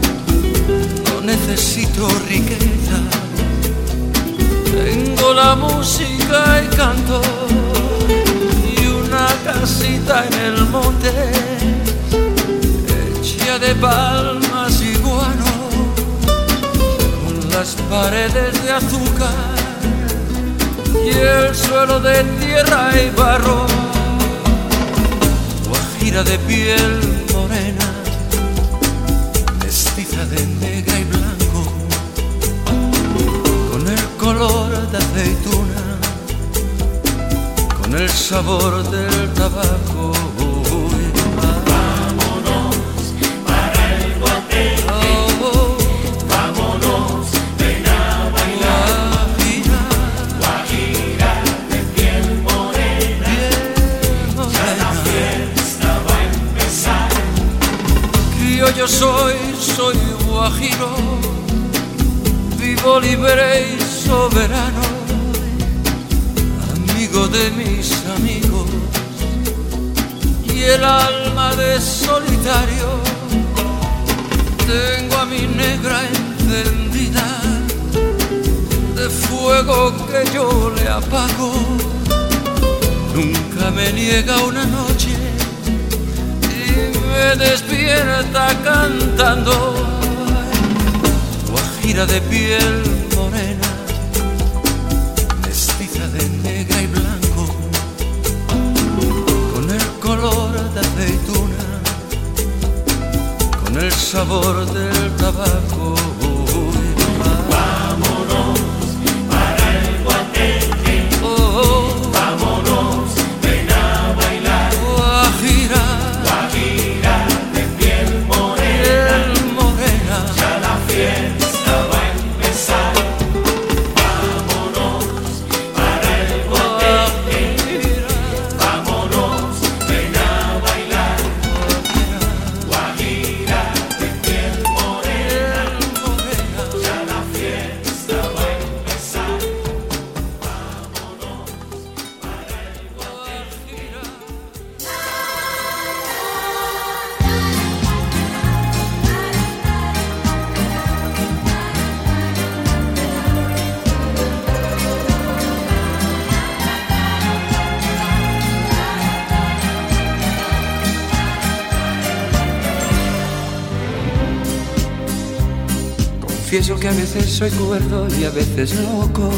Necesito riqueza, tengo la música y canto, y una casita en el monte, hecha de palmas y guano, con las paredes de azúcar y el suelo de tierra y barro. Guajira de piel morena, mestiza de negra y blanco, con el color de aceituna, con el sabor del tabaco. Vámonos para el Guateque. Vámonos, ven a bailar. Guajira de piel morena. Ya la fiesta va a empezar. Criollo soy guajiro, vivo libre y soberano, amigo de mis amigos, el alma de solitario. Tengo a mi negra encendida de fuego que yo le apago. Nunca me niega una noche y me despierta cantando. Guajira de piel morena, mestiza de negra y blanco, con el color de aceituna, con el sabor del tabaco. Vámonos para el Guateque. Vámonos, ven a bailar. Guajira, Guajira de piel morena, ya la fiesta va a empezar. Vámonos para el Guateque. Vámonos, ven a bailar. Guajira de piel morena, ya la fiesta va a empezar. Vámonos para el Guateque. Confieso que a veces soy cuerdo y a veces loco,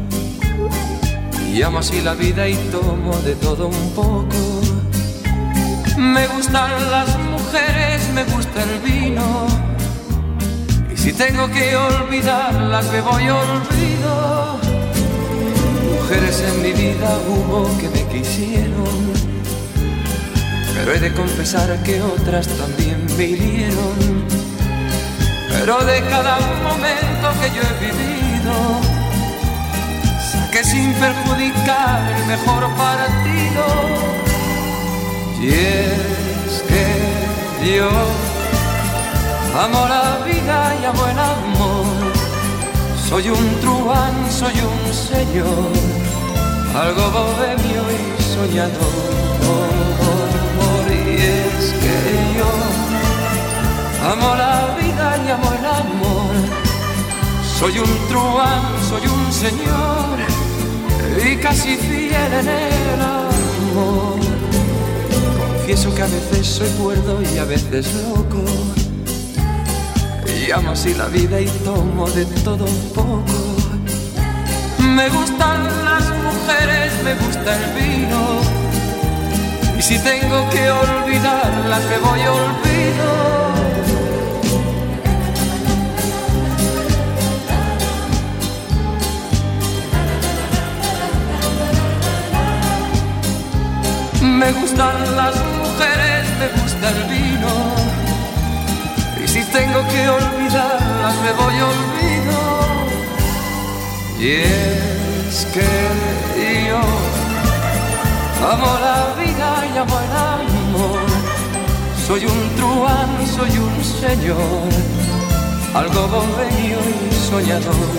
y amo así la vida y tomo de todo un poco. Me gustan las mujeres, me gusta el vino, y si tengo que olvidarlas bebo y olvido. Mujeres en mi vida hubo que me quisieron, pero he de confesar que otras también me hirieron. Pero de cada momento que yo he vivido, saqué sin perjudicar el mejor partido. Y es que yo amo la vida y amo el amor. Soy un truán, soy un señor, algo bohemio y soñador. Y es que yo amo la vida y amo el amor. Soy un truán, soy un señor y casi fiel en el amor. Confieso que a veces soy cuerdo y a veces loco, y amo así la vida y tomo de todo un poco. Me gustan las mujeres, me gusta el vino, y si tengo que olvidarlas me voy a olvido. Me gustan las mujeres, me gusta el vino, y si tengo que olvidarlas me voy a olvido. Y es que yo amo la vida y amo el amor. Soy un truán, soy un señor, algo bohemio y soñador.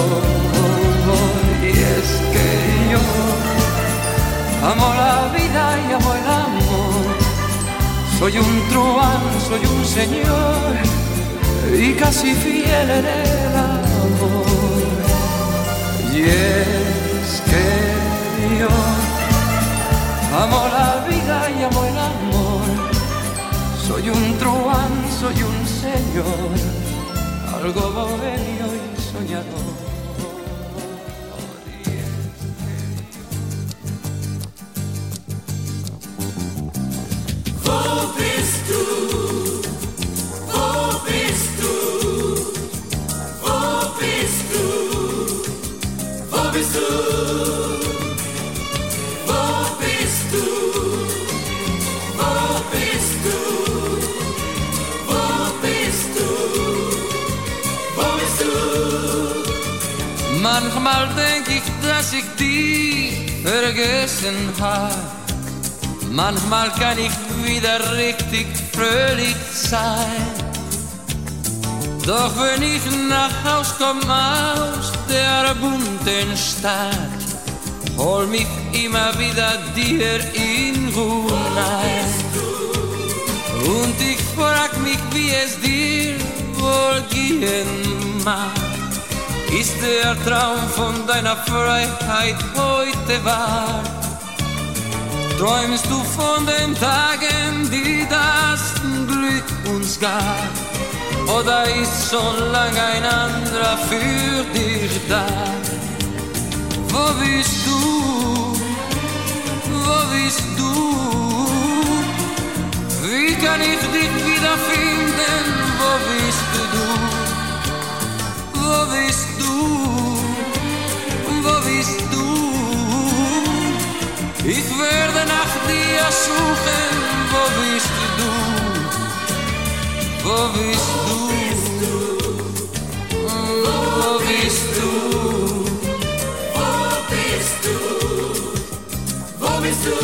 Y es que yo amo la vida y amo el amor. Soy un truán, soy un señor y casi fiel en el amor. Y es que yo amo la vida y amo el amor. Soy un truán, soy un señor, algo bohemio y soñador. Manchmal denk ich, dass ich dich vergessen hab. Manchmal kann ich wieder richtig fröhlich sein. Doch wenn ich nach Haus komm aus der bunten Stadt, hol mich immer wieder dir in Ruhe ein. Mann. Ist der Traum von deiner Freiheit heute wahr? Träumst du von den Tagen, die das Glück uns gab? Oder ist schon lang ein anderer für dich da? Wo bist du? Wo bist du? Wie kann ich dich wiederfinden? Wo bist du? Wo bist du? Wo bist du? Ich werde nach dir suchen. Wo bist du? Wo bist du? Wo bist du? Wo bist du? Wo bist du?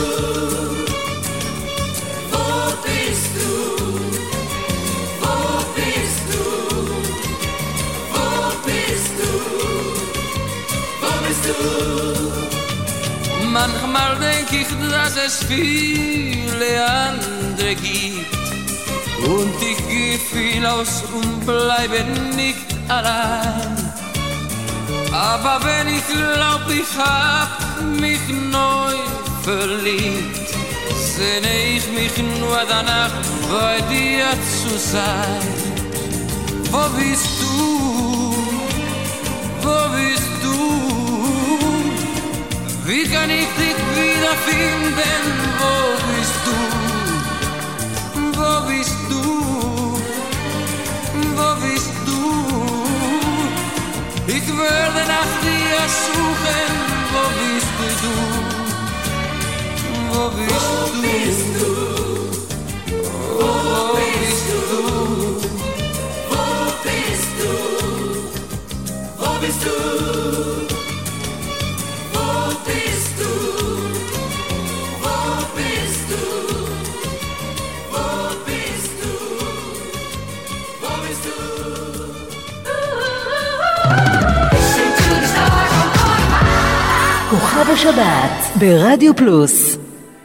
Wo bist du? Wo bist du? Wo bist du? Wo bist du? Manchmal denk ich, dass es viele andere gibt und ich geh viel aus und bleibe nicht allein. Aber wenn ich glaub, ich hab mich neu verliebt, sehne ich mich nur danach, bei dir zu sein. Wo bist du? Wo bist du? Wie kann ich dich wiederfinden? Wo bist du? Wo bist du? Wo bist du? Ich werde nach dir suchen. Wo bist du? Wo bist du? Wo bist du? Wo bist du? Wo bist du? Wo bist du? Wo bist du? Wo bist du? Wo bist du? כוכב השבת ברדיו פלוס.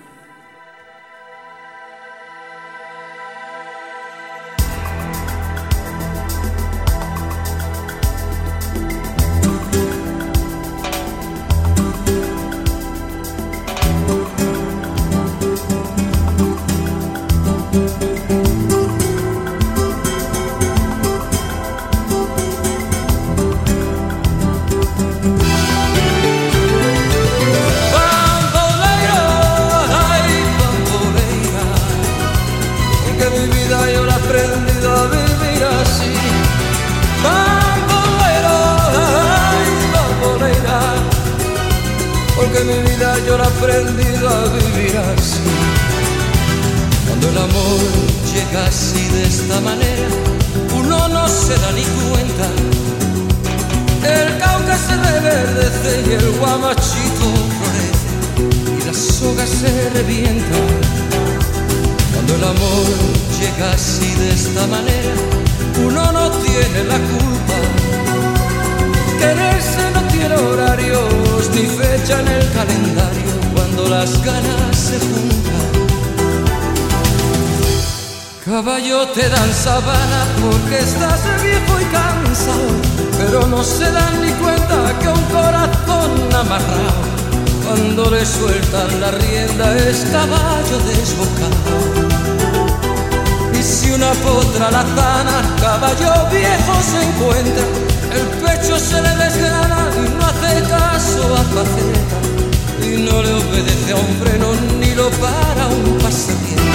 Caballo te dan sabana porque estás viejo y cansado, pero no se dan ni cuenta que un corazón amarrado, cuando le sueltan la rienda es caballo desbocado. Y si una potra la zana, caballo viejo se encuentra, el pecho se le desgrana y no hace caso a faceta, y no le obedece a un freno ni lo para un pasatiempo.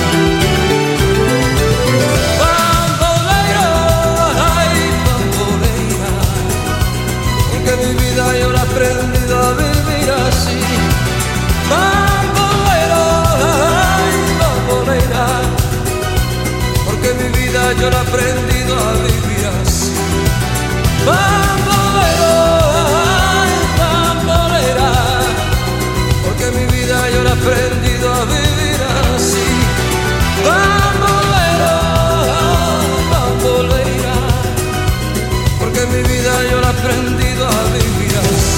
Bambolero, ay bambolera, porque mi vida yo la he aprendido a vivir así. Bambolero, ay bambolera, porque mi vida yo la he aprendido a vivir así. Bambolero, ay bambolera, porque mi vida yo la he aprendido a vivir así. Bambolero, bambolera, porque mi vida yo la he aprendido a vivir así.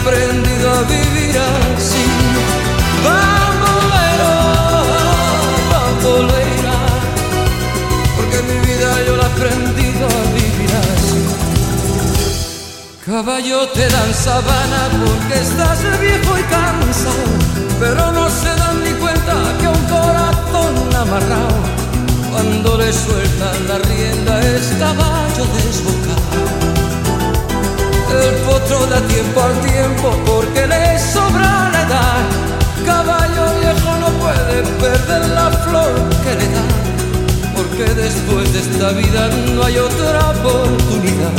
aprendido a vivir así. Bambolero, bambolera, porque mi vida yo la he aprendido a vivir así. Caballo, te dan sabana porque estás viejo y cansado, pero no se dan ni cuenta que un corazón amarrado, cuando le sueltan la rienda, es caballo desbocado. El potro da tiempo al tiempo porque le sobra la edad. Caballo viejo no puede perder la flor que le da, porque después de esta vida no hay otra oportunidad.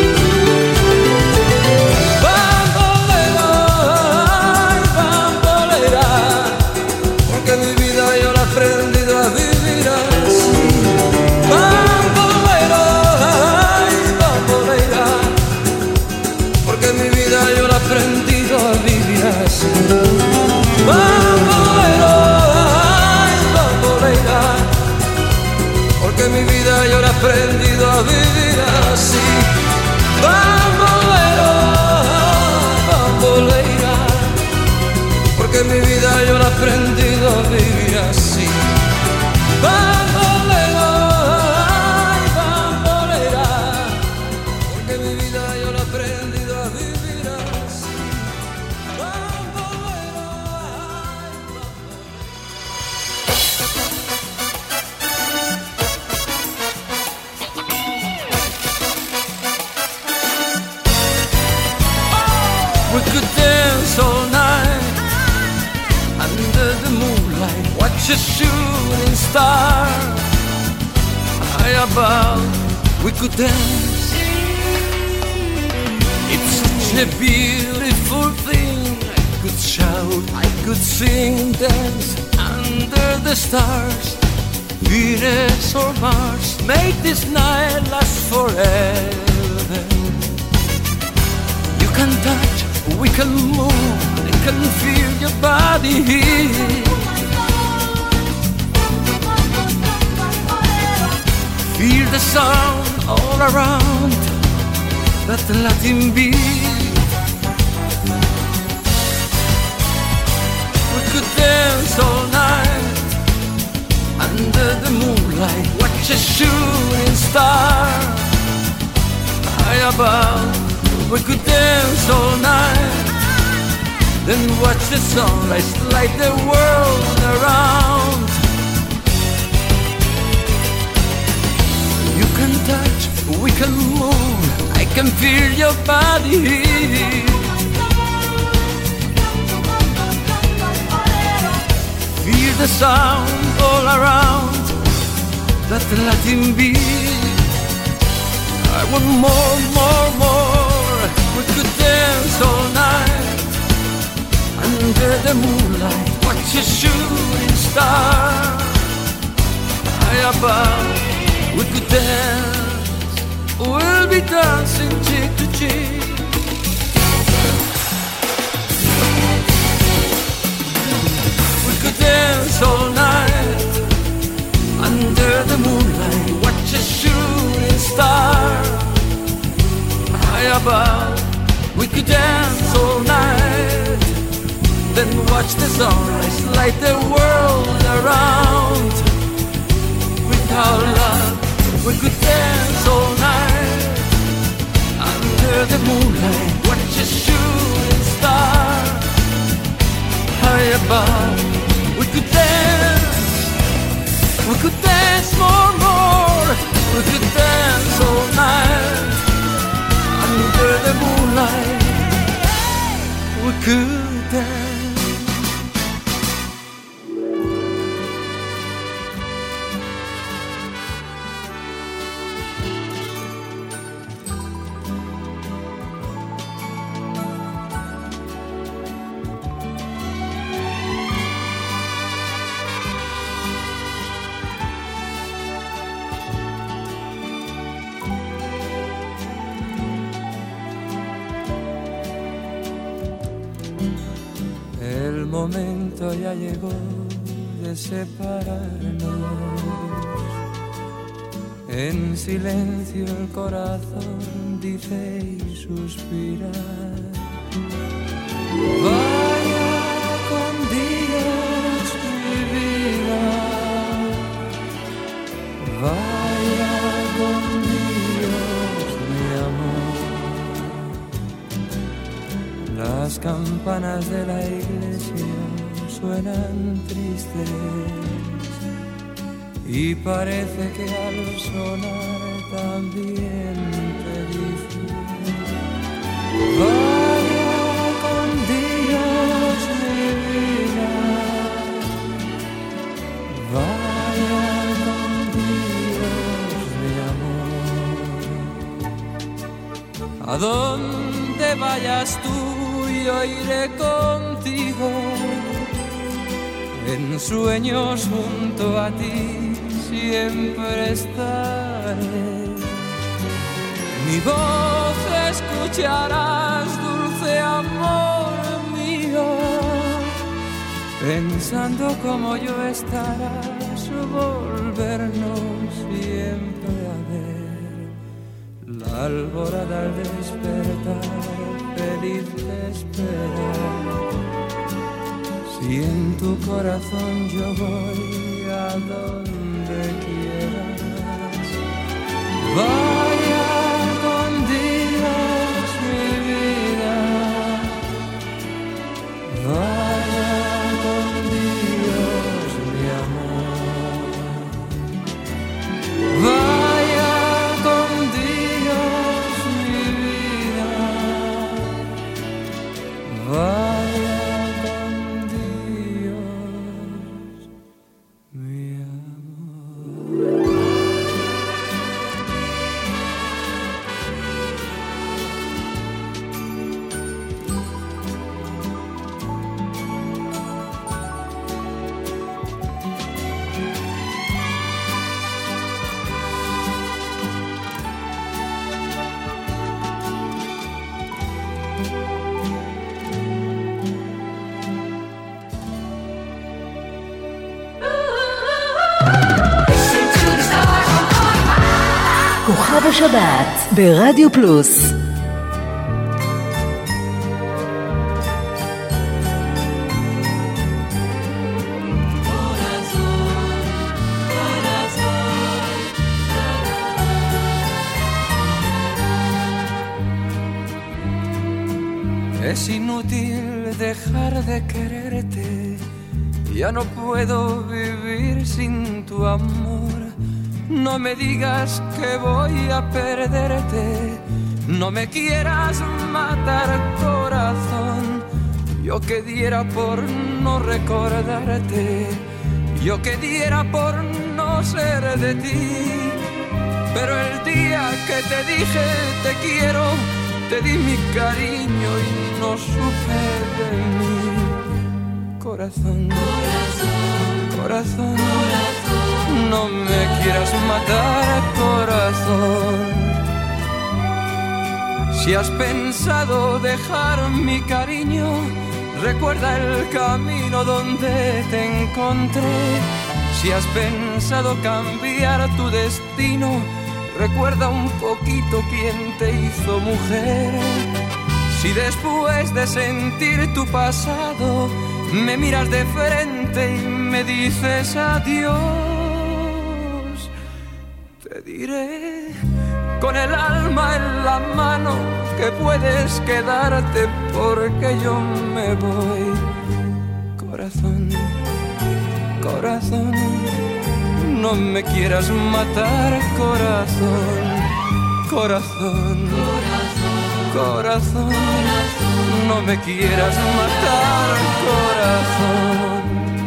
Bambolera, ay, bambolera, porque mi vida yo la he aprendido a vivir así. Bambolera, ay, bambolera, porque mi vida yo la he aprendido a vivir así. Bambolera, ay, bambolera, porque mi vida yo la he aprendido a vivir así. Bambolera, bambolera, porque mi vida yo la he aprendido a vivir así. Bambolera, ay, bambolera, porque mi vida yo la he aprendido a vivir así. Bambolera, ay, we could dance all night under the moonlight, watch a shooting star high above. We could dance. It's such a beautiful thing. I could shout, I could sing, dance under the stars. Venus or Mars, make this night last forever. You can touch, we can move, I can feel your body here. Feel the sound all around, that Latin beat. We could dance all night under the moonlight, watch a shooting star high above. We could dance all night, then watch the sunrise light the world around. You can touch, we can move, I can feel your body here. Feel the sound all around, that Latin beat. I want more, more, more. We could dance all night under the moonlight, watch a shooting star high above. We could dance, we'll be dancing cheek to cheek. We could dance all night under the moonlight, watch a shooting star high above. We could dance all night, then watch the sunrise light the world around. With our love, we could dance all night under the moonlight, watch a shooting star high above. We could dance more, more. We could dance all night under the moonlight. We could dance. El momento ya llegó de separarnos. En silencio el corazón dice y suspira. Vaya con Dios mi vida, vaya con Dios mi amor. Las campanas de la iglesia suenan tristes y parece que al sonar también te dicen: vaya con Dios mi vida, vaya con Dios mi amor. A donde vayas tú yo iré contigo, en sueños junto a ti siempre estaré. Mi voz escucharás, dulce amor mío, pensando como yo estarás, volvernos siempre a ver. La alborada al despertar, feliz te espera. Si en tu corazón yo voy a donde quieras, vaya con Dios mi vida, vaya con Dios mi amor, vaya con Dios mi vida, vaya. כוכב השבת ברדיו פלוס. Es inútil dejar de quererte, ya no puedo vivir sin tu amor. No me digas que voy a perderte, no me quieras matar, corazón. Yo que diera por no recordarte, yo que diera por no ser de ti. Pero el día que te dije te quiero, te di mi cariño y no supe de mí. Corazón, corazón, no me quieras matar, corazón. Si has pensado dejar mi cariño, recuerda el camino donde te encontré. Si has pensado cambiar tu destino, recuerda un poquito quién te hizo mujer. Si después de sentir tu pasado me miras de frente y me dices adiós, te diré con el alma en la mano que puedes quedarte porque yo me voy. Corazón, corazón, no me quieras matar, corazón, corazón, corazón, no me quieras matar, corazón.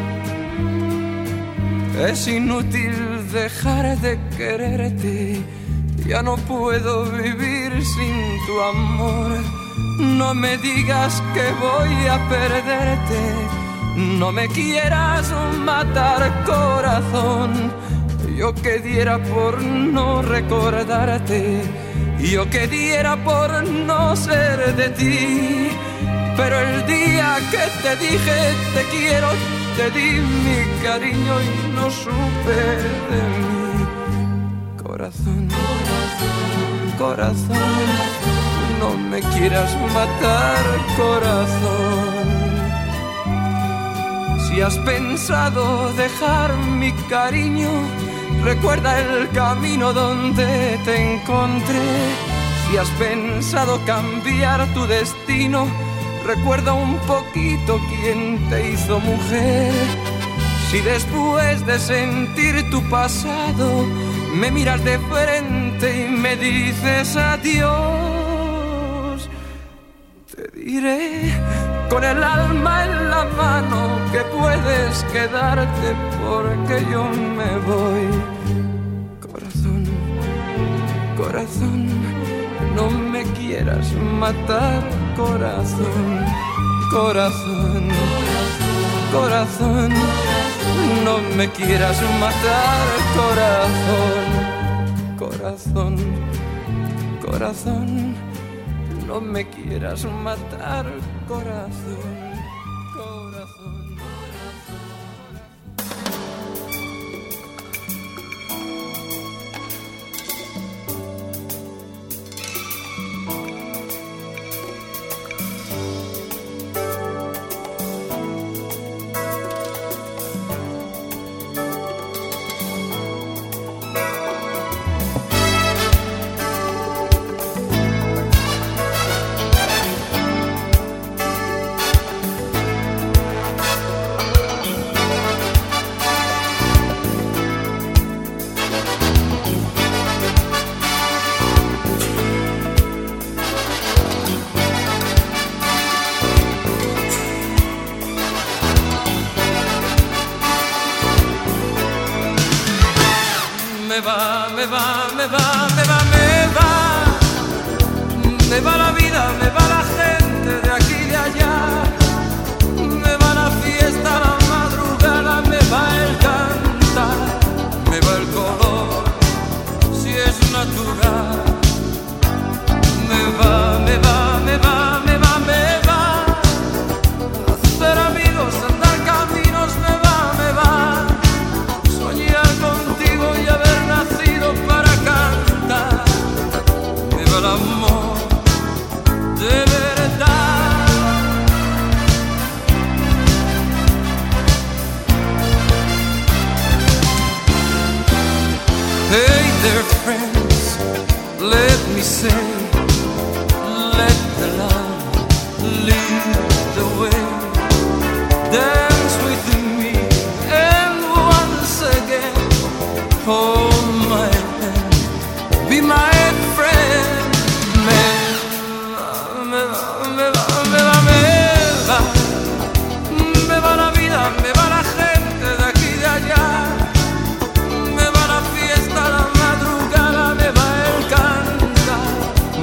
Es inútil dejar de quererte, ya no puedo vivir sin tu amor. No me digas que voy a perderte, no me quieras matar, corazón. Yo que diera por no recordarte, yo que diera por no ser de ti. Pero el día que te dije te quiero, te di mi cariño y no supe de mí. Corazón, corazón, no me quieras matar, corazón. Si has pensado dejar mi cariño, recuerda el camino donde te encontré. Si has pensado cambiar tu destino, recuerda un poquito quién te hizo mujer. Si después de sentir tu pasado me miras de frente y me dices adiós, te diré con el alma en la mano que puedes quedarte porque yo me voy. Corazón, corazón, no me quieras matar, corazón, corazón, corazón, no me quieras matar, corazón, corazón, corazón, no me quieras matar, corazón, corazón. Me va la vida, me va la gente de aquí y de allá, me va la fiesta, la madrugada, me va el cantar, me va el color, si es natural, me va, me va, me va, me va, me va, hacer amigos, andar caminos, me va, soñar contigo y haber nacido para cantar, me va el amor de verdad. Hey there friends, let me say, let the love lead the way. Dance with me and once again hold my hand, be my friend. Me va la vida, me va la gente de aquí y de allá, me va la fiesta, la madrugada, me va el cantar,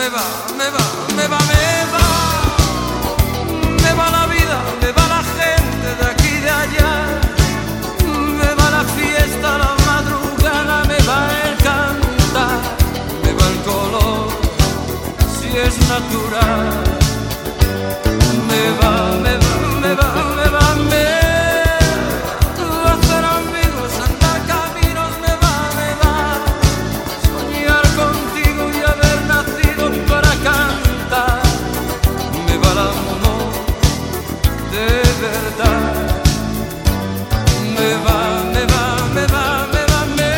Me va la vida, me va la gente de aquí y de allá. Me va la fiesta, la madrugada, me va el cantar, me va el color, si es natural. Me va, me va, me va, me va, me va hacer amigos, andar caminos, me va, soñar contigo y haber nacido para cantar. Me va el amor de verdad. Me va, me va, me va, me va, me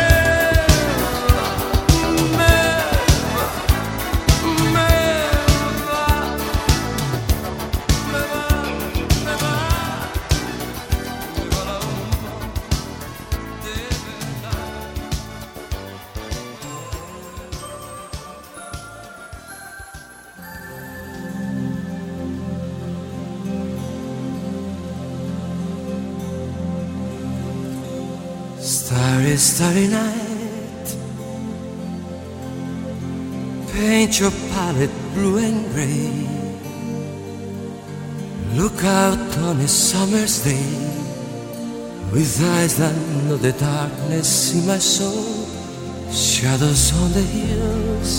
Starry, starry night, paint your palette blue and gray. Look out on a summer's day, with eyes that know the darkness in my soul. Shadows on the hills,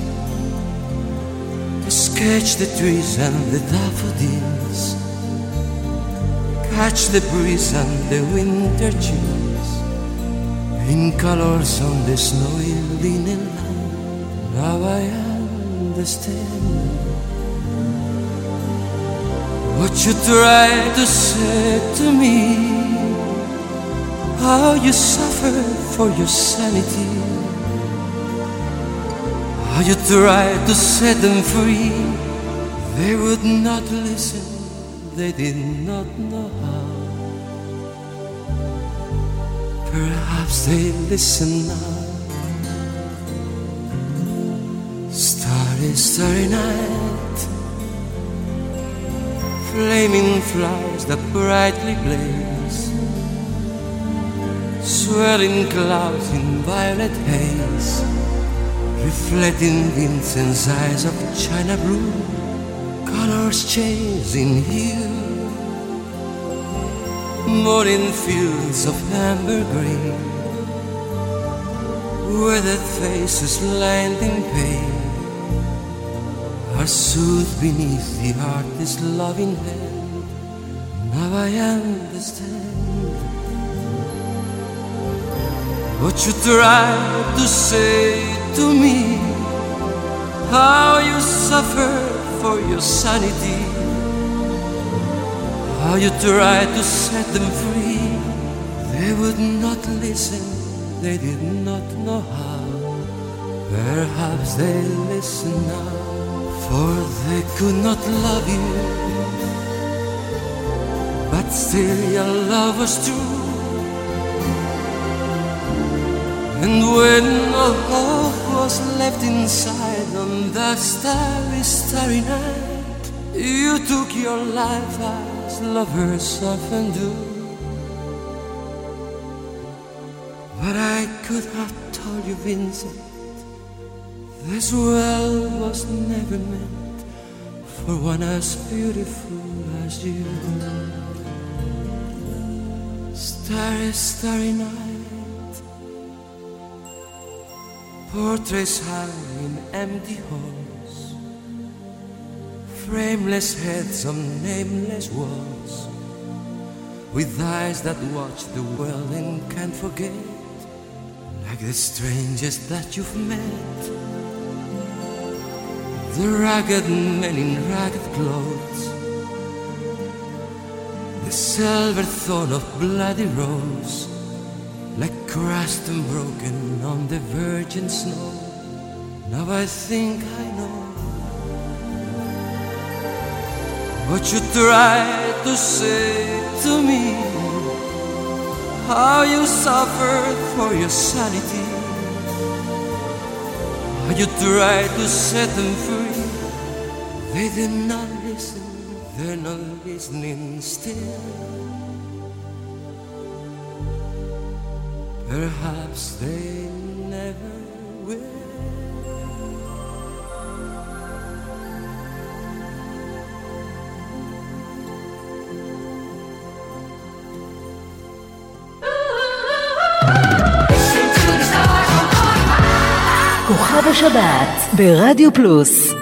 sketch the trees and the daffodils, catch the breeze and the winter chills, in colors on the snowy linen land. Now I understand what you tried to say to me, how you suffered for your sanity, how you tried to set them free. They would not listen, they did not know how. Perhaps they listen now. Starry, starry night, flaming flowers that brightly blaze, swirling clouds in violet haze, reflecting Vincent's eyes of china blue, colors changing hue, morning fields of amber green, weathered faces lined in pain, are soothed beneath the artist's loving hand. Now I understand what you tried to say to me, how you suffered for your sanity, how you tried to set them free. They would not listen, they did not know how. Perhaps they listen now, for they could not love you, but still your love was true. And when all hope was left inside on that starry, starry night, you took your life as lovers often do. But I could have told you, Vincent, this world was never meant for one as beautiful as you. Starry, starry night, portraits hung in empty halls, frameless heads on nameless walls, with eyes that watch the world and can't forget, like the strangest that you've met. The ragged men in ragged clothes, the silver thorn of bloody rose, like crushed and broken on the virgin snow. Now I think I know what you tried to say to me, how you suffered for your sanity, how you tried to set them free. They did not listen, they're not listening still. Perhaps they never will. מחר בשבת ברדיו פלוס.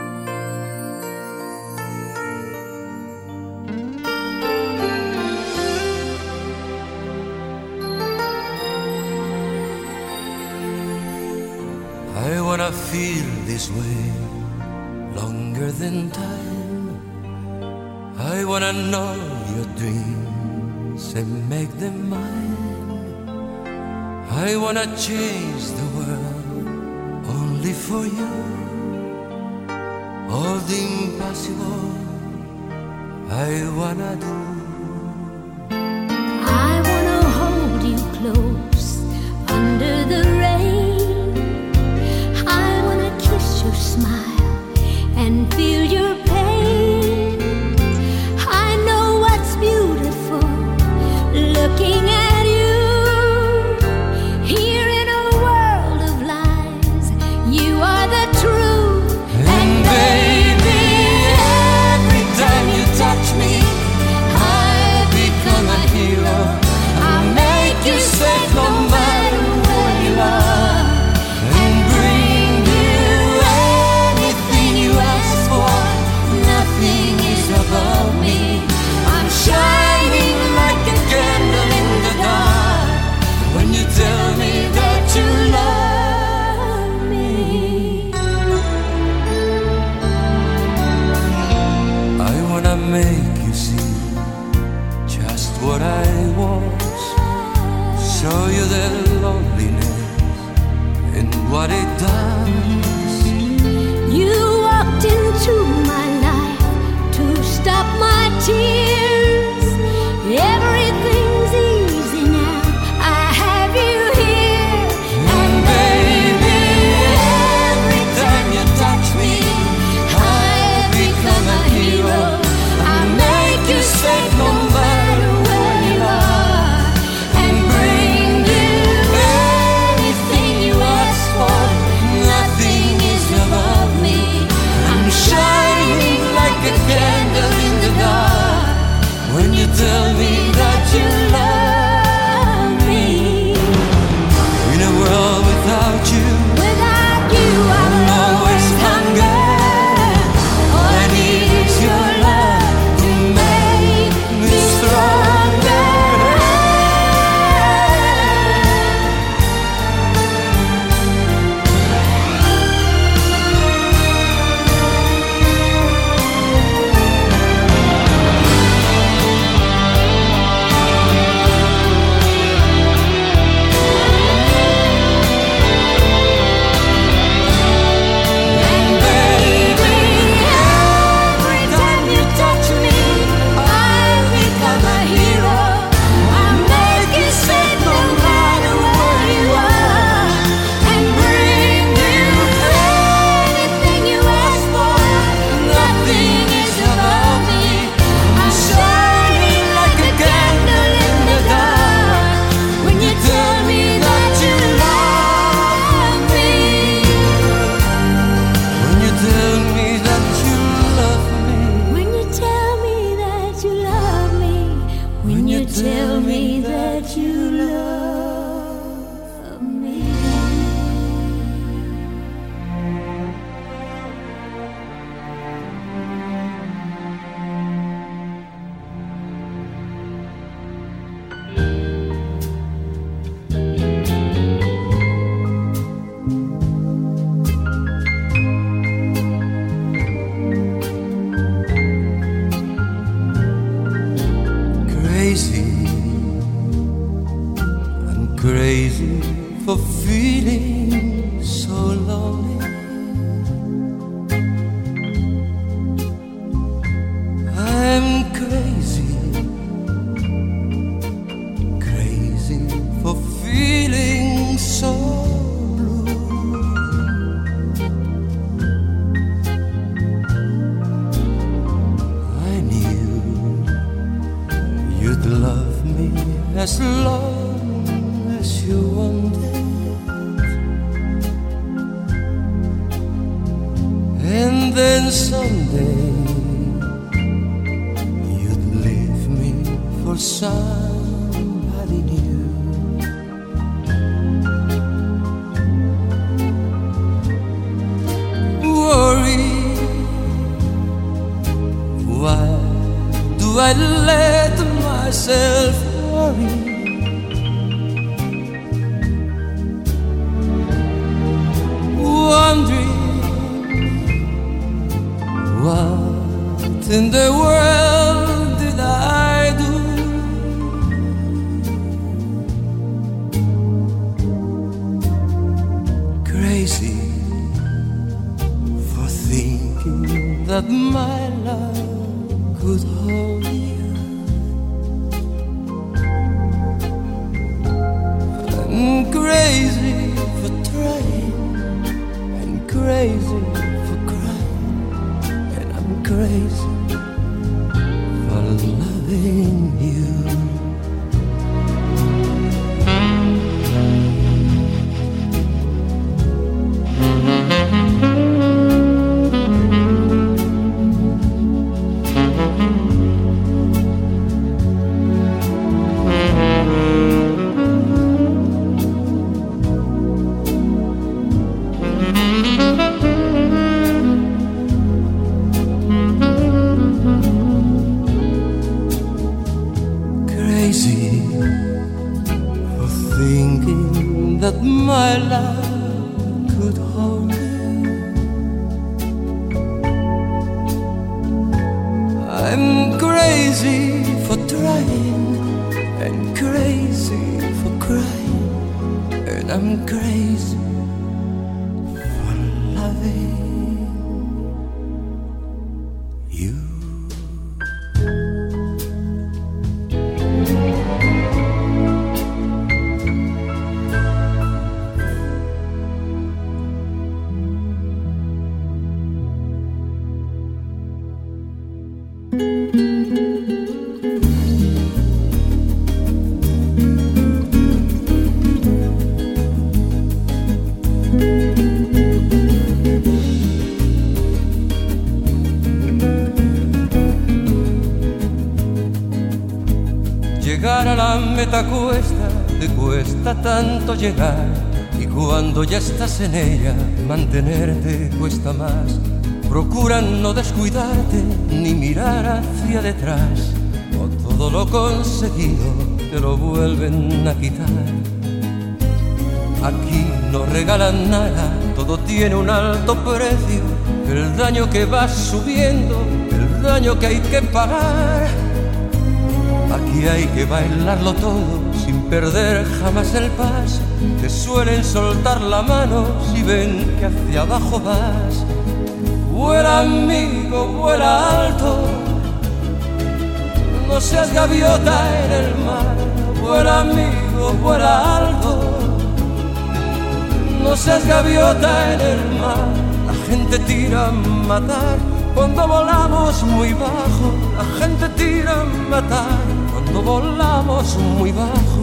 I wanna feel this way longer than time. I wanna know your dreams and make them mine. I wanna change the world only for you. All the impossible I wanna do. I wanna hold you close under the rain. I wanna kiss your smile and feel your pain. I know what's beautiful looking at you. Here in a world of lies, you are the truth. And baby, every time you touch me, I become a hero. I make you safe no matter where you are, and bring you anything you ask for. Nothing is above me. I'm shining like a candle in the dark when you tell me that you love me. I wanna make you see just what I was, show you the loneliness and what it does. You walked into my life to stop my tears. Everything's easy now. I have you here. And baby, every time you touch me, I become a hero. I make you safe no matter where you are, and bring you anything you ask for. Nothing is above me. I'm shining like a candle in the dark when you tell me that you love me. In a world without you, Without you, I I'm will always hunger. All I need is your love to make me stronger. And baby, every time you touch me, I become a hero. I make you safe no matter where you are, and bring you anything you ask for. Nothing is above me. I'm shining like a candle in the dark when you tell me that you love me. When you tell me that you love me. When you tell me that you love me. When you tell me that you love me. Crazy, I'm crazy for feeling so lonely. I'm crazy, crazy for feeling so blue. I knew you'd love me as long as you wanted, and then someday you'd leave me for somebody new. in the world did I do? Crazy for thinking that my love could hold you. I'm crazy for trying, and crazy for crying, and I'm crazy for loving you. That my love could hold you. I'm crazy for trying, and crazy for crying, and I'm crazy for loving you. Llegar a la meta cuesta, te cuesta tanto llegar, y cuando ya estás en ella, mantenerte cuesta más. Procura no descuidarte ni mirar hacia detrás, o todo lo conseguido te lo vuelven a quitar. Aquí no regalan nada, todo tiene un alto precio, el daño que va subiendo, el daño que hay que pagar. Aquí hay que bailarlo todo sin perder jamás el paso. Te suelen soltar la mano si ven que hacia abajo vas. Vuela amigo, vuela alto, no seas gaviota en el mar. Vuela amigo, vuela alto, no seas gaviota en el mar. La gente tira a matar cuando volamos muy bajo. La gente tira a matar cuando volamos muy bajo.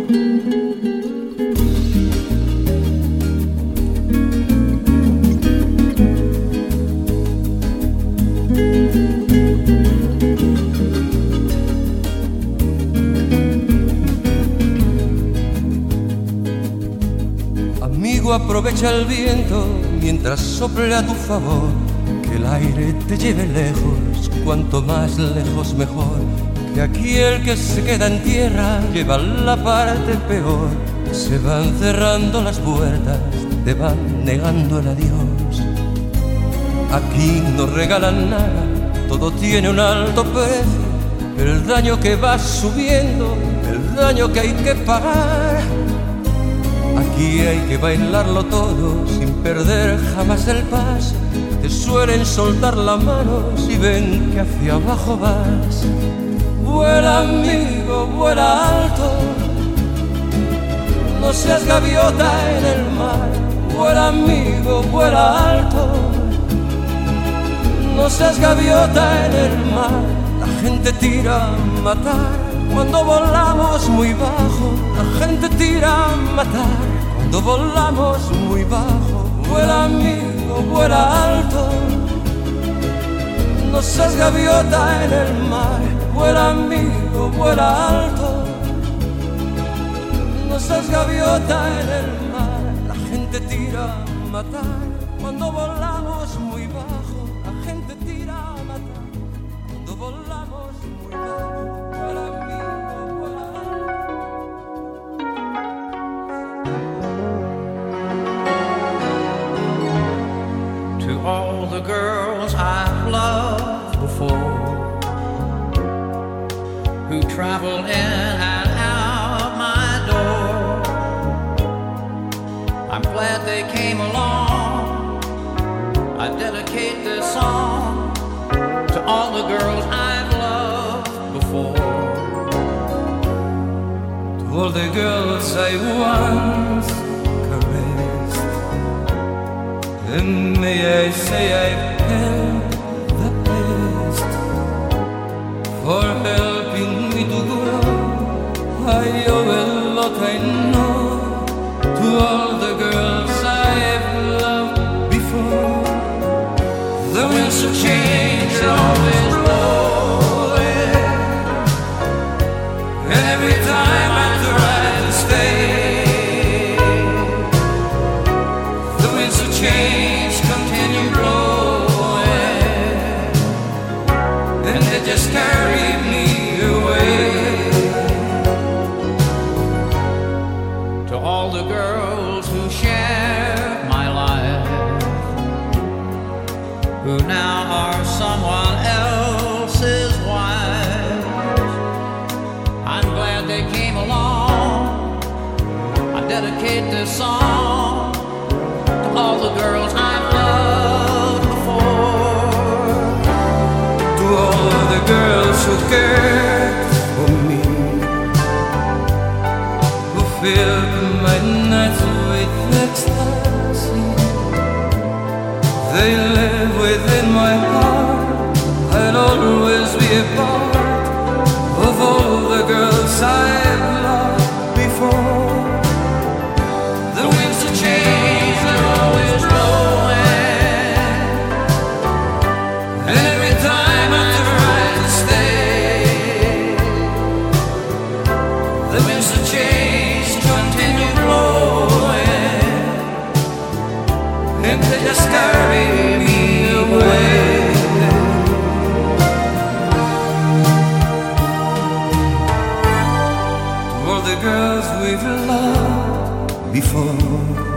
Amigo, aprovecha el viento mientras sople a tu favor, que el aire te lleve lejos, cuanto más lejos mejor. Que aquí el que se queda en tierra lleva la parte peor. Se van cerrando las puertas, te van negando el adiós. Aquí no regalan nada, todo tiene un alto precio, el daño que va subiendo, el daño que hay que pagar. Aquí hay que bailarlo todo sin perder jamás el paso. Te suelen soltar la mano si ven que hacia abajo vas. Vuela amigo, vuela alto, no seas gaviota en el mar. Vuela amigo, vuela alto, no seas gaviota en el mar. La gente tira a matar cuando volamos muy bajo. La gente tira a matar cuando volamos muy bajo. Vuela amigo, vuela alto, no seas gaviota en el mar. Vuela amigo, vuela alto, no seas gaviota en el mar. La gente tira a matar cuando volamos muy bajo. La gente tira a matar cuando volamos muy bajo. Vuela amigo, vuela To all the girls I've loved before, travel in and out my door. I'm glad they came along. I dedicate this song to all the girls I've loved before. To all the girls I once caressed, and may I say I've had the best. For helping me to grow, I owe a lot I know to all the girls I've loved before. The winds of change are always blowing, and every time I try to stay, the winds of change continue blowing, and they just carry me away. To all the girls who share my life, who now are someone else's wives, I'm glad they came along. I dedicate this song to all the girls I've loved before. To all the girls who cared for me, who filled my nights with ecstasy. They live within my heart. I'll always be a part of all the girls I've loved before. The winds of change are always blowing, And every time I try to stay, the winds of change continue blowing, and they just carry me away. To all the girls we've loved before,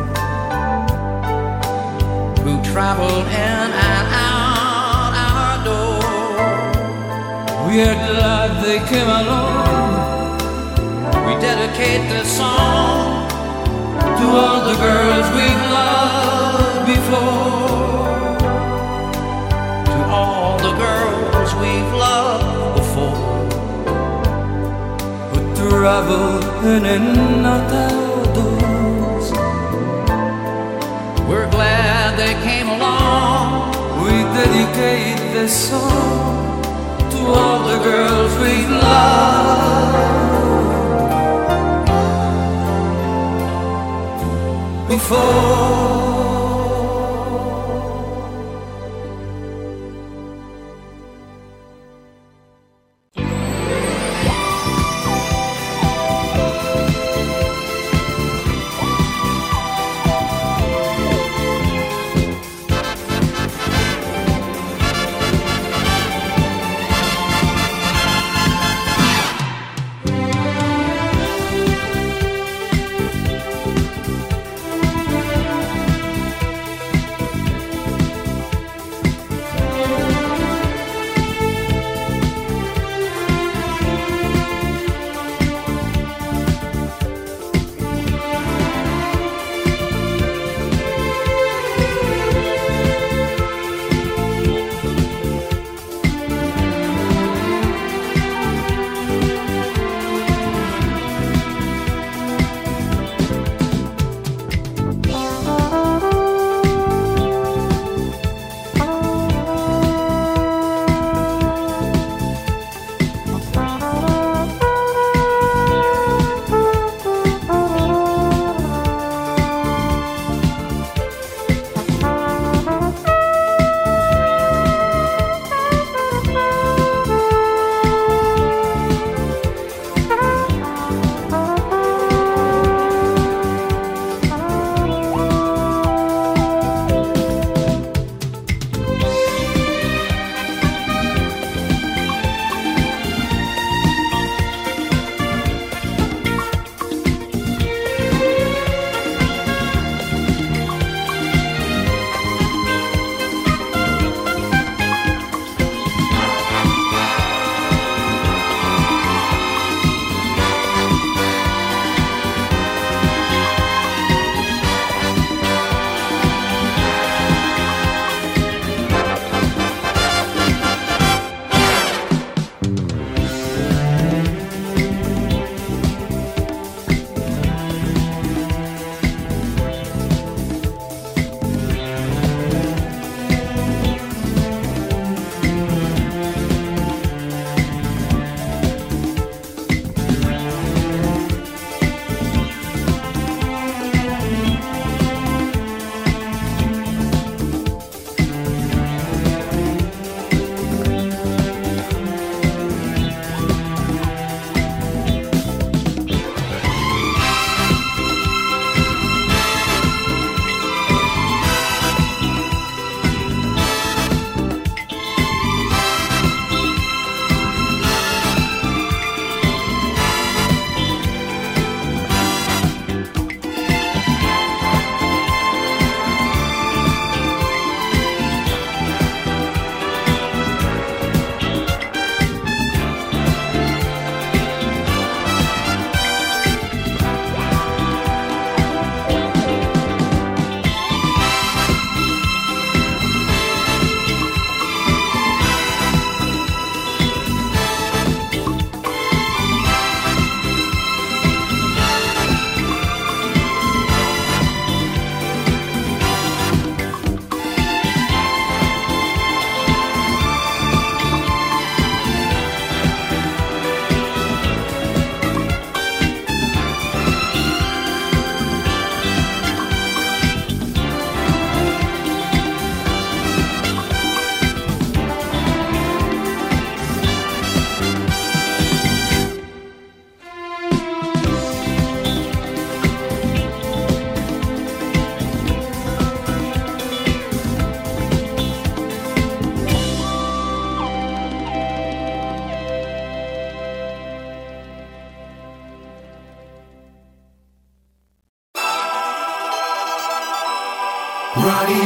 who traveled in and out our door. we are glad they came along. We dedicate this song To all the girls we've loved before, to all the girls we've loved before. who travel in and out our doors. We're glad they came along. We dedicate this song to all the girls we've loved before.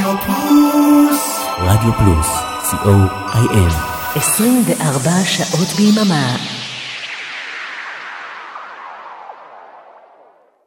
רדיו פלוס, co.il 24 שעות ביממה.